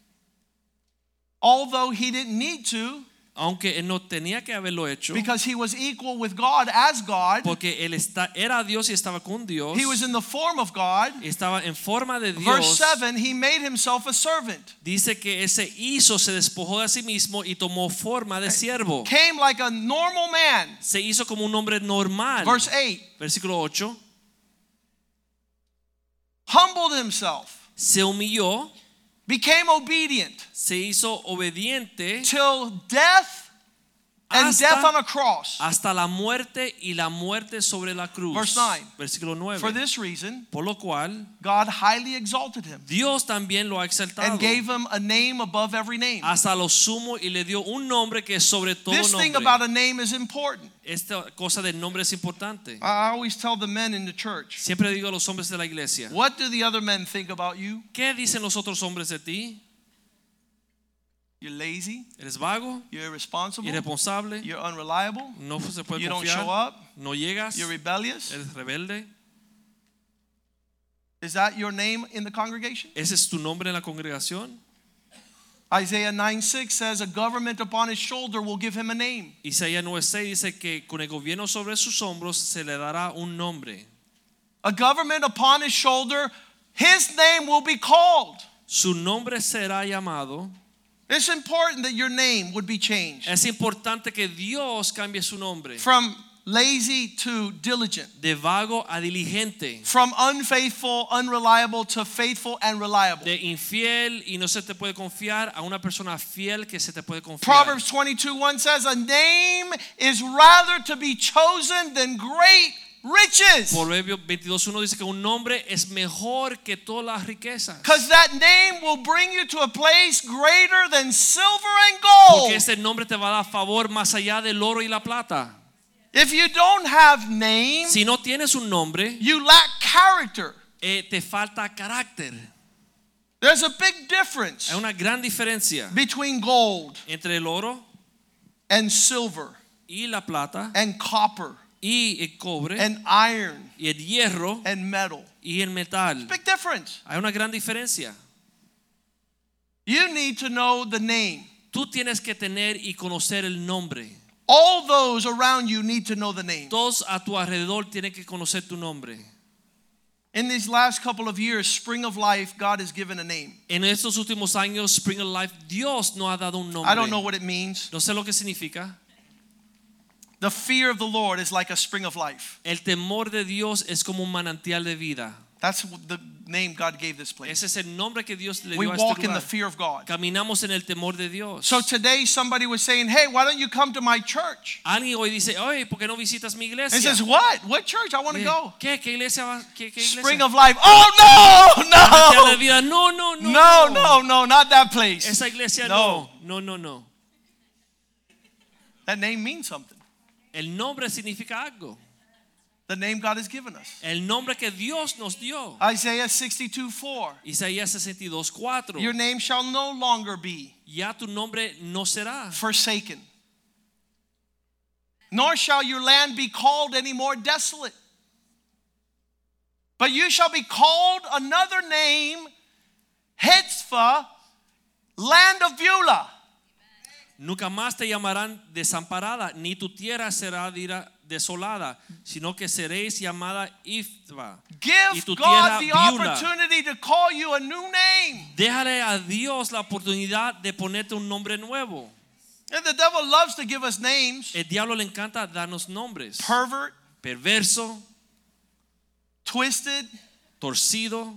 Although he didn't need to, Aunque él no tenía que haberlo hecho, because he was equal with God as God, porque él está, era Dios y estaba con Dios, he was in the form of God. estaba en forma de Verse Dios. seven, he made himself a servant. Dice que ese hizo, se despojó de sí mismo y tomó forma de siervo. Came like a normal man. Se hizo como un hombre normal. Verse eight, Versículo ocho. humbled himself, Se humilló, became obedient se hizo obediente till death and Hasta- death on a cross. hasta la muerte y la muerte sobre la cruz. Verse nine. Versículo nueve. For this reason, Por lo cual God highly exalted him Dios también lo ha exaltado and gave him a name above every name. hasta lo sumo y le dio un nombre que es sobre todo This thing nombre. about a name is important. Esta cosa del nombre es importante. I always tell the men in the church, Siempre digo a los hombres de la iglesia, what do the other men think about you? ¿qué dicen los otros hombres de ti? You're lazy, ¿Eres vago? you're irresponsible, ¿Irresponsable? you're unreliable, ¿No se puede you don't confiar? show up, ¿No llegas? you're rebellious. ¿Eres rebelde? Is that your name in the congregation? ¿Ese es tu nombre en la congregación? Isaiah nine six says, a government upon his shoulder will give him a name. Isaías nueve seis dice que con el gobierno sobre sus hombros se le dará un nombre. A government upon his shoulder, his name will be called. Su nombre será llamado. It's important that your name would be changed Es importante que Dios cambie su nombre. from lazy to diligent, De vago a diligente. from unfaithful, unreliable to faithful and reliable. De infiel y no se te puede confiar a una persona fiel que se te puede confiar. Proverbs twenty-two one says, a name is rather to be chosen than great riches. Proverbios veintidós uno dice que un nombre es mejor que todas las riquezas. Because that name will bring you to a place greater than silver and gold. Porque este nombre te va a dar favor más allá del oro y la plata. If you don't have name, Si no tienes un nombre, you lack character. eh, te falta carácter. There's a big difference Hay una gran diferencia between gold entre el oro and silver y la plata and copper y el cobre and iron y el hierro and metal. y el metal. Big difference. Hay una gran diferencia. You need to know the name. Tú tienes que tener y conocer el nombre. All those around you need to know the name. Todos a tu alrededor tienen que conocer tu nombre. In these last couple of years, Spring of Life, God has given a name. En estos últimos años, Spring of Life, Dios nos ha dado un nombre. I don't know what it means. No sé lo que significa. The fear of the Lord is like a spring of life. El temor de Dios es como un manantial de vida. That's the name God gave this place. Ese es el nombre que Dios le We dio a este walk in the lugar. fear of God. Caminamos en el temor de Dios. So today somebody was saying, hey, why don't you come to my church? Alguien hoy dice, oye, ¿por qué no visitas mi iglesia? And says, what? What church? I want to go. ¿Qué? ¿Qué iglesia? va- ¿Qué, qué iglesia? Spring of Life. Oh, no, Iglesia de no. vida. No, no, no. No, no, no, not that place. Esa iglesia No. no. No, no, no. That name means something. El nombre significa algo. The name God has given us. El nombre que Dios nos dio. Isaiah sixty-two four. Isaías sesenta y dos cuatro. Your name shall no longer be Ya tu nombre no será. forsaken, nor shall your land be called any more desolate. But you shall be called another name, Hetzpah, land of Beulah. Nunca más te llamarán desamparada, ni tu tierra será dira- desolada, sino que seréis llamada Ifba. y Give tu God tierra the Beulah. opportunity to call you a new name. Déjale a Dios la oportunidad de ponerte un nombre nuevo. And the devil loves to give us names. El diablo le encanta darnos nombres. Pervert, Perverso, twisted, torcido,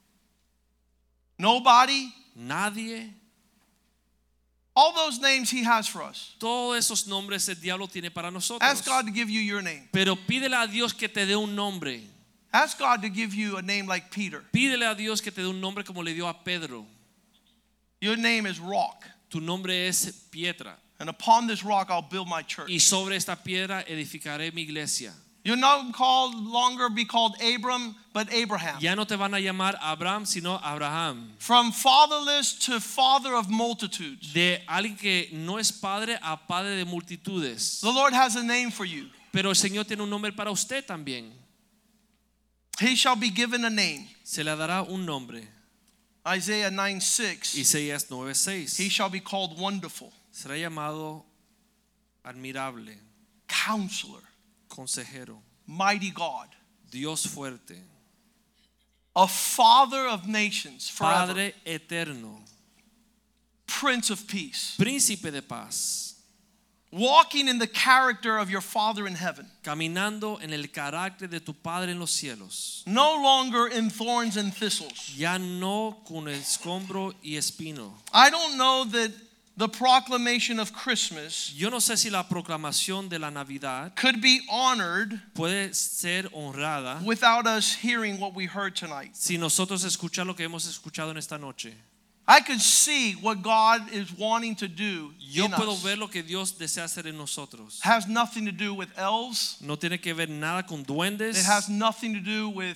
nobody. nadie. All those names he has for us. Todos esos nombres el diablo tiene para nosotros. Ask God to give you your name. Pero pídele a Dios que te dé un nombre. Ask God to give you a name like Peter. Pídele a Dios que te dé un nombre como le dio a Pedro. Your name is Rock. Tu nombre es Piedra. And upon this rock I'll build my church. Y sobre esta piedra edificaré mi iglesia. You'll not called longer be called Abram, but Abraham. Ya no te van a llamar Abraham, sino Abraham. From fatherless to father of multitudes. De alguien que no es padre a padre de multitudes. The Lord has a name for you. Pero el Señor tiene un nombre para usted también. He shall be given a name. Se le dará un nombre. Isaiah nine six. Isaías nueve seis. He shall be called Wonderful, Será llamado admirable, Counselor, consejero, Mighty God, Dios fuerte, a Father of nations forever, Padre eterno, Prince of Peace. príncipe de paz, Walking in the character of your Father in heaven. caminando en el carácter de tu Padre en los cielos. No longer in thorns and thistles. Ya no con escombro y espino. I don't know that the proclamation of Christmas Yo no sé si la proclamación de la Navidad could be honored puede ser honrada without us hearing what we heard tonight. si nosotros escuchar lo que hemos escuchado en esta noche. I could see what God is wanting to do Yo in puedo us. ver lo que Dios desea hacer en nosotros. Has nothing to do with elves. No tiene que ver nada con duendes. It has nothing to do with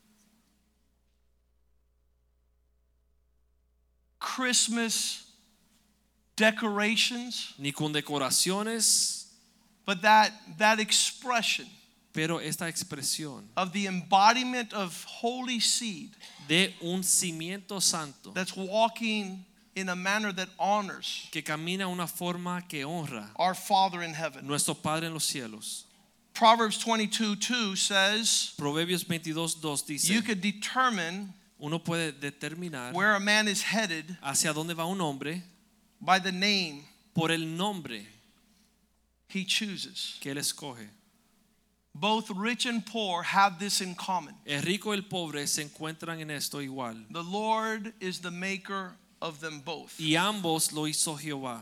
Christmas decorations, ni con decoraciones, but that that expression pero esta expresión of the embodiment of holy seed de un cimiento santo that's walking in a manner that honors que camina una forma que honra our Father in heaven. nuestro Padre en los cielos. Proverbs twenty-two two says Proverbios veintidós dos dice, you could determine uno puede determinar where a man is headed hacia dónde va un hombre by the name por el nombre he chooses. que él escoge. Both rich and poor have this in common. El rico y el pobre se encuentran en esto igual. The Lord is the maker of them both. Y ambos lo hizo Jehová.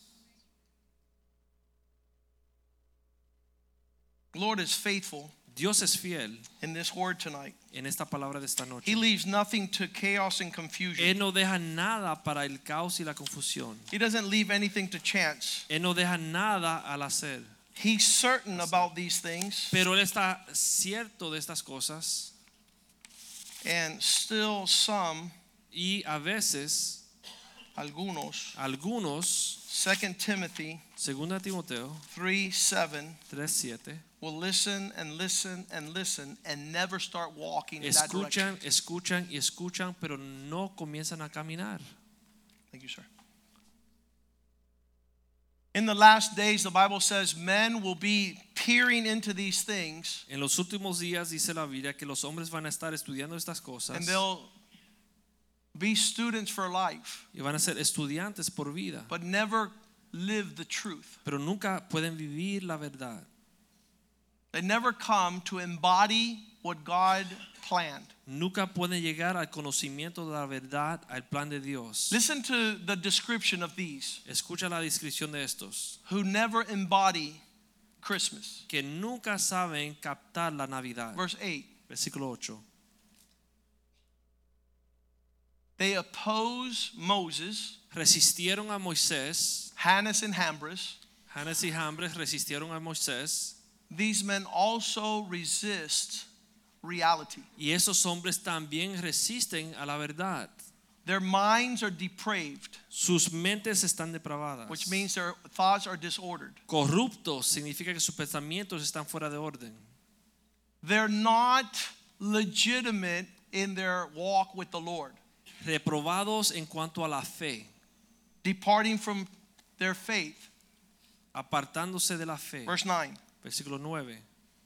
The Lord is faithful Dios es fiel in this word tonight. en esta palabra de esta noche. He leaves nothing to chaos and Él confusion. no deja nada para el caos y la confusión. He doesn't leave anything to chance. Él no deja nada al hacer. He's certain about these things, Pero Él está cierto de estas cosas. and still some, Y a veces, algunos, algunos, Second Timothy segunda Timoteo three seven, tres siete, will listen and listen and listen and never start walking in that direction. escuchan, escuchan y escuchan, pero no comienzan a caminar. Thank you, sir. In the last days, the Bible says men will be peering into these things, En los últimos días dice la Biblia que los hombres van a estar estudiando estas cosas and they'll be students for life, y van a ser estudiantes por vida, but never live the truth. pero nunca pueden vivir la verdad. They never come to embody what God planned. Nunca pueden llegar al conocimiento de la verdad, al plan de Dios. Listen to the description of these Escucha la descripción de estos, who never embody Christmas. que nunca saben captar la Navidad. Verse eight. Versículo ocho. They oppose Moses, Resistieron a Moisés. Hannes and Jambres. Hannes y Jambres resistieron a Moisés. These men also resist reality. Y esos hombres también resisten a la verdad. Their minds are depraved, Sus mentes están depravadas. which means their thoughts are disordered. Corruptos significa que sus pensamientos están fuera de orden. They're not legitimate in their walk with the Lord, Reprobados en cuanto a la fe, departing from their faith. apartándose de la fe. Verse nine. Versículo nueve.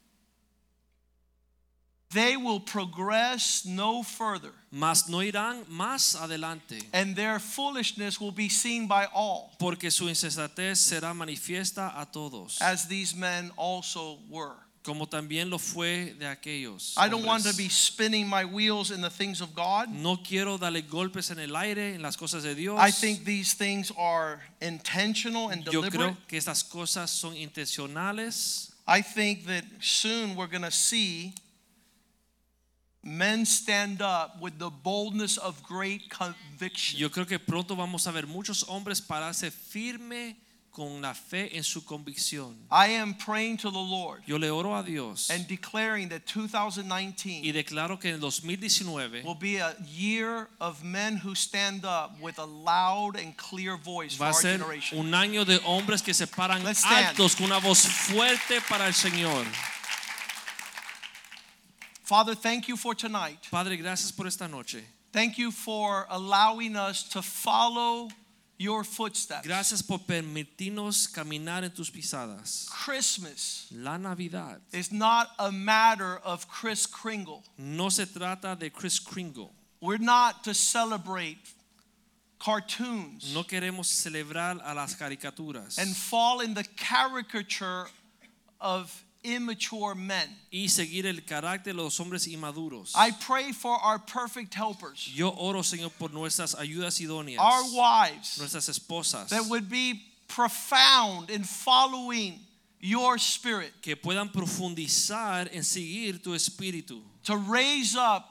They will progress no further, Mas no irán más adelante, and their foolishness will be seen by all, porque su insensatez será manifiesta a todos, as these men also were. como también lo fue de aquellos. I don't want to hombres. be spinning my wheels in the things of God. No quiero darle golpes en el aire en las cosas de Dios. I think these things are intentional and Yo deliberate. creo que estas cosas son intencionales. I think that soon we're going to see men stand up with the boldness of great conviction. Yo creo que pronto vamos a ver muchos hombres pararse firme con la fe en su convicción. I am praying to the Lord Yo le oro a Dios and declaring that two thousand nineteen y declaro que en el dos mil diecinueve will be a year of men who stand up with a loud and clear voice for va a our ser generation. un año de hombres que se paran Let's stand. altos con una voz fuerte para el Señor. Father, thank you for tonight. Padre, gracias por esta noche. Thank you for allowing us to follow your footsteps. Gracias por permitirnos caminar en tus pisadas. Christmas La Navidad is not a matter of Kris Kringle. no se trata de Kris Kringle. We're not to celebrate cartoons No queremos celebrar a las caricaturas and fall in the caricature of immature men. y seguir el carácter de los hombres inmaduros. I pray for our perfect helpers, Yo oro, Señor, por nuestras ayudas idóneas, our wives, nuestras esposas, that would be profound in following your spirit, que puedan profundizar en seguir tu espíritu, to raise up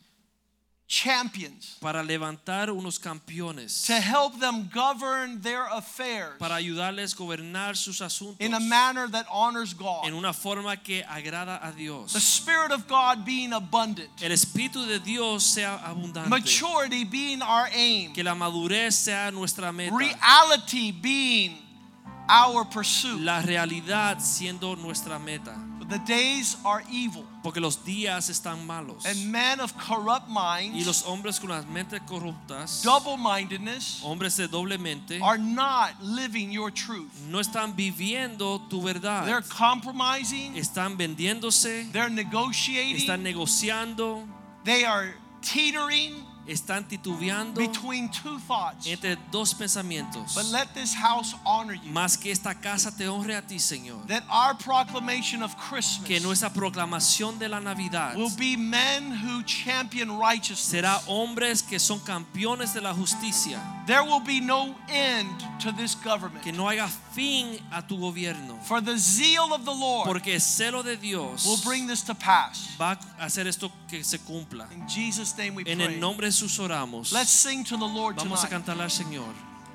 champions, para levantar unos campeones, to help them govern their affairs para ayudarles a gobernar sus asuntos in a manner that honors God. en una forma que agrada a Dios. The Spirit of God being abundant, El Espíritu de Dios sea abundante, maturity being our aim, que la madurez sea nuestra meta, reality being our pursuit. la realidad siendo nuestra meta, The days are evil, porque los días están malos and men of corrupt y minds, los hombres con las mentes corruptas, double-mindedness, hombres de doble mente, are not living your truth. no están viviendo tu verdad, They're compromising, están vendiéndose, they're negotiating, están negociando, they are teetering están titubeando between two thoughts. entre dos pensamientos. But let this house honor you. Más que esta casa te honre a ti, Señor. That our proclamation of Christmas Que nuestra proclamación de la Navidad will be men who champion righteousness. será hombres que son campeones de la justicia. There will be no end to this government. Que no haya fin a tu gobierno. For the zeal of the Lord Porque el celo de Dios will bring this to pass. va a hacer esto que se cumpla. In Jesus' name we En el pray. nombre de Jesús oramos. Let's sing to the Lord Vamos a tonight. cantarle al Señor.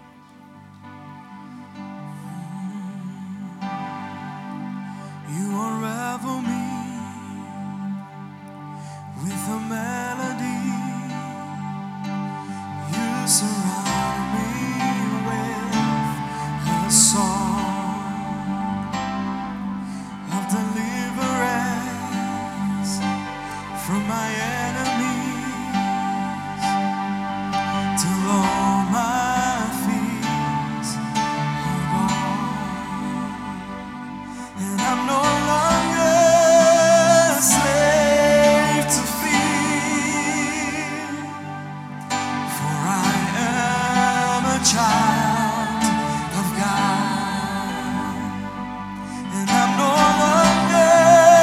You unravel me with a melody. You surround me with a song of deliverance from my enemies till all my fears are gone. And I'm no longer a slave to fear, for I am a child of God. And I'm no longer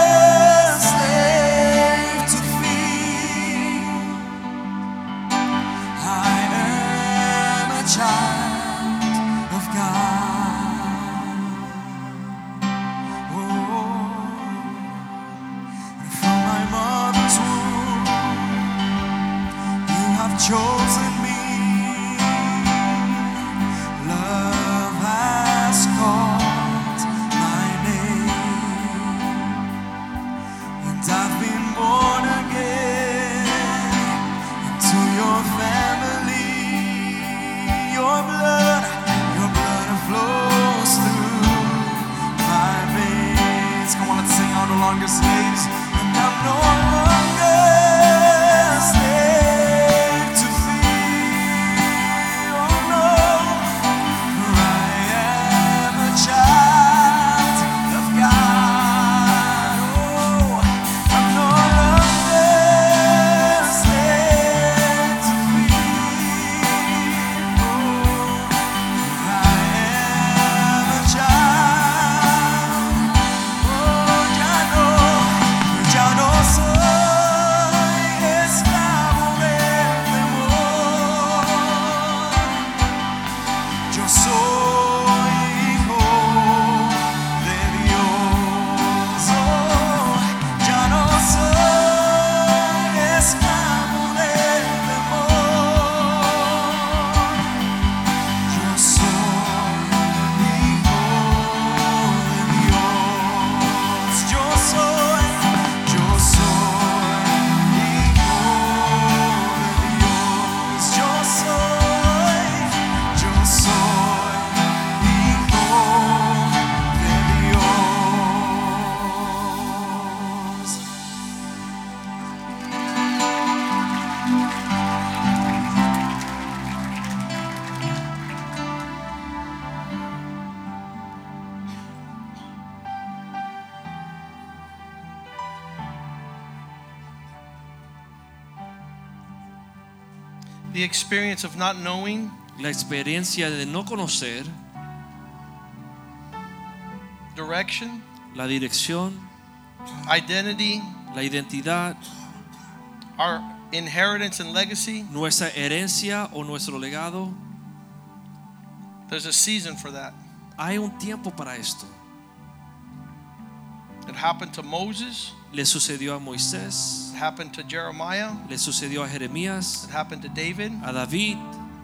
chosen me. Love has called my name, and I've been born again into your family. Your blood, your blood flows through my veins. Come on, let's sing out no longer slaves, and I'm no longer slave to fear. Oh no, for I am a child of God. Oh, I'm no longer slave to fear. Oh, for I am a child. Oh, ya no, ya no soy esclavo del temor. Yo soy hijo de Dios. Oh, ya no soy esclavo del temor. Yo soy hijo de Dios. Yo soy, yo soy hijo de Dios. Yo soy, yo soy hijo de Dios. The experience of not knowing La experiencia de no conocer direction, la dirección, identity, la identidad, our inheritance and legacy. nuestra herencia o nuestro legado. There's a season for that. Hay un tiempo para esto. It happened to Moses, Le sucedió a Moisés, it happened to Jeremiah, le sucedió a Jeremías, it happened to David. a David.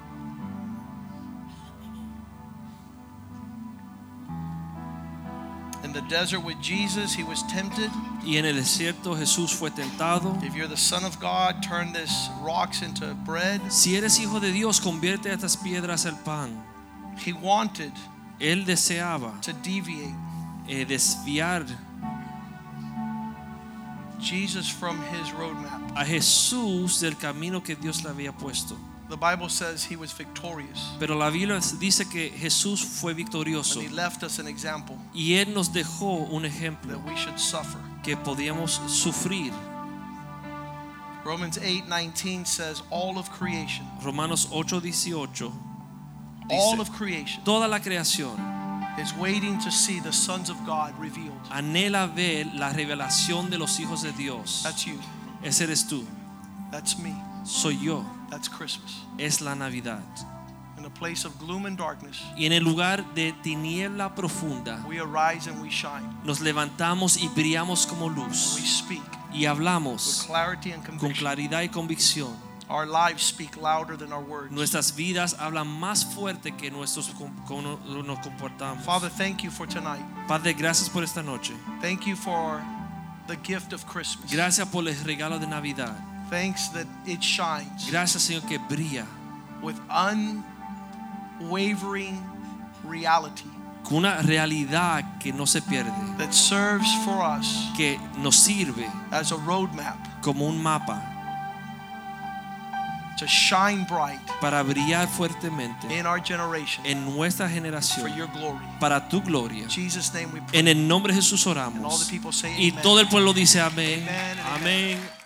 In the desert with Jesus, he was tempted. Y en el desierto Jesús fue tentado. If you're the Son of God, turn this rocks into bread. Si eres hijo de Dios, convierte estas piedras en pan. He wanted Él deseaba to deviate eh, desviar Jesus from his roadmap. a Jesús del camino que Dios le había puesto. The Bible says he was victorious, Pero la Biblia dice que Jesús fue and victorioso he left us an example y Él nos dejó un ejemplo that we should suffer. que podíamos sufrir. Romans eight nineteen says all of creation, Romanos ocho dieciocho all dice, of creation toda la creación is waiting to see the sons of God revealed. anhela ver la revelación de los hijos de Dios. That's you. Ese eres tú, That's me. soy yo, That's Christmas. es la Navidad. In a place of gloom and darkness, Y en el lugar de tiniebla profunda we arise and we shine. nos levantamos y brillamos como We luz speak y with hablamos clarity and con conviction. claridad y convicción. Our lives speak louder than our words. Nuestras vidas hablan más fuerte que nuestros com- cómo nos comportamos. Father, thank you for tonight. Padre, gracias por esta noche. Thank you for the gift of Christmas. Gracias por el regalo de Navidad. Thanks that it shines Gracias, Señor, que brilla with unwavering reality con una realidad que no se pierde, that serves for us que nos sirve as a roadmap como un mapa to shine bright para brillar fuertemente in our generation en nuestra for generación your glory. para tu gloria. In Jesus' name we pray. En el nombre de Jesús And all oramos. the people say Y amen. todo el pueblo dice amén. Amen and Amén.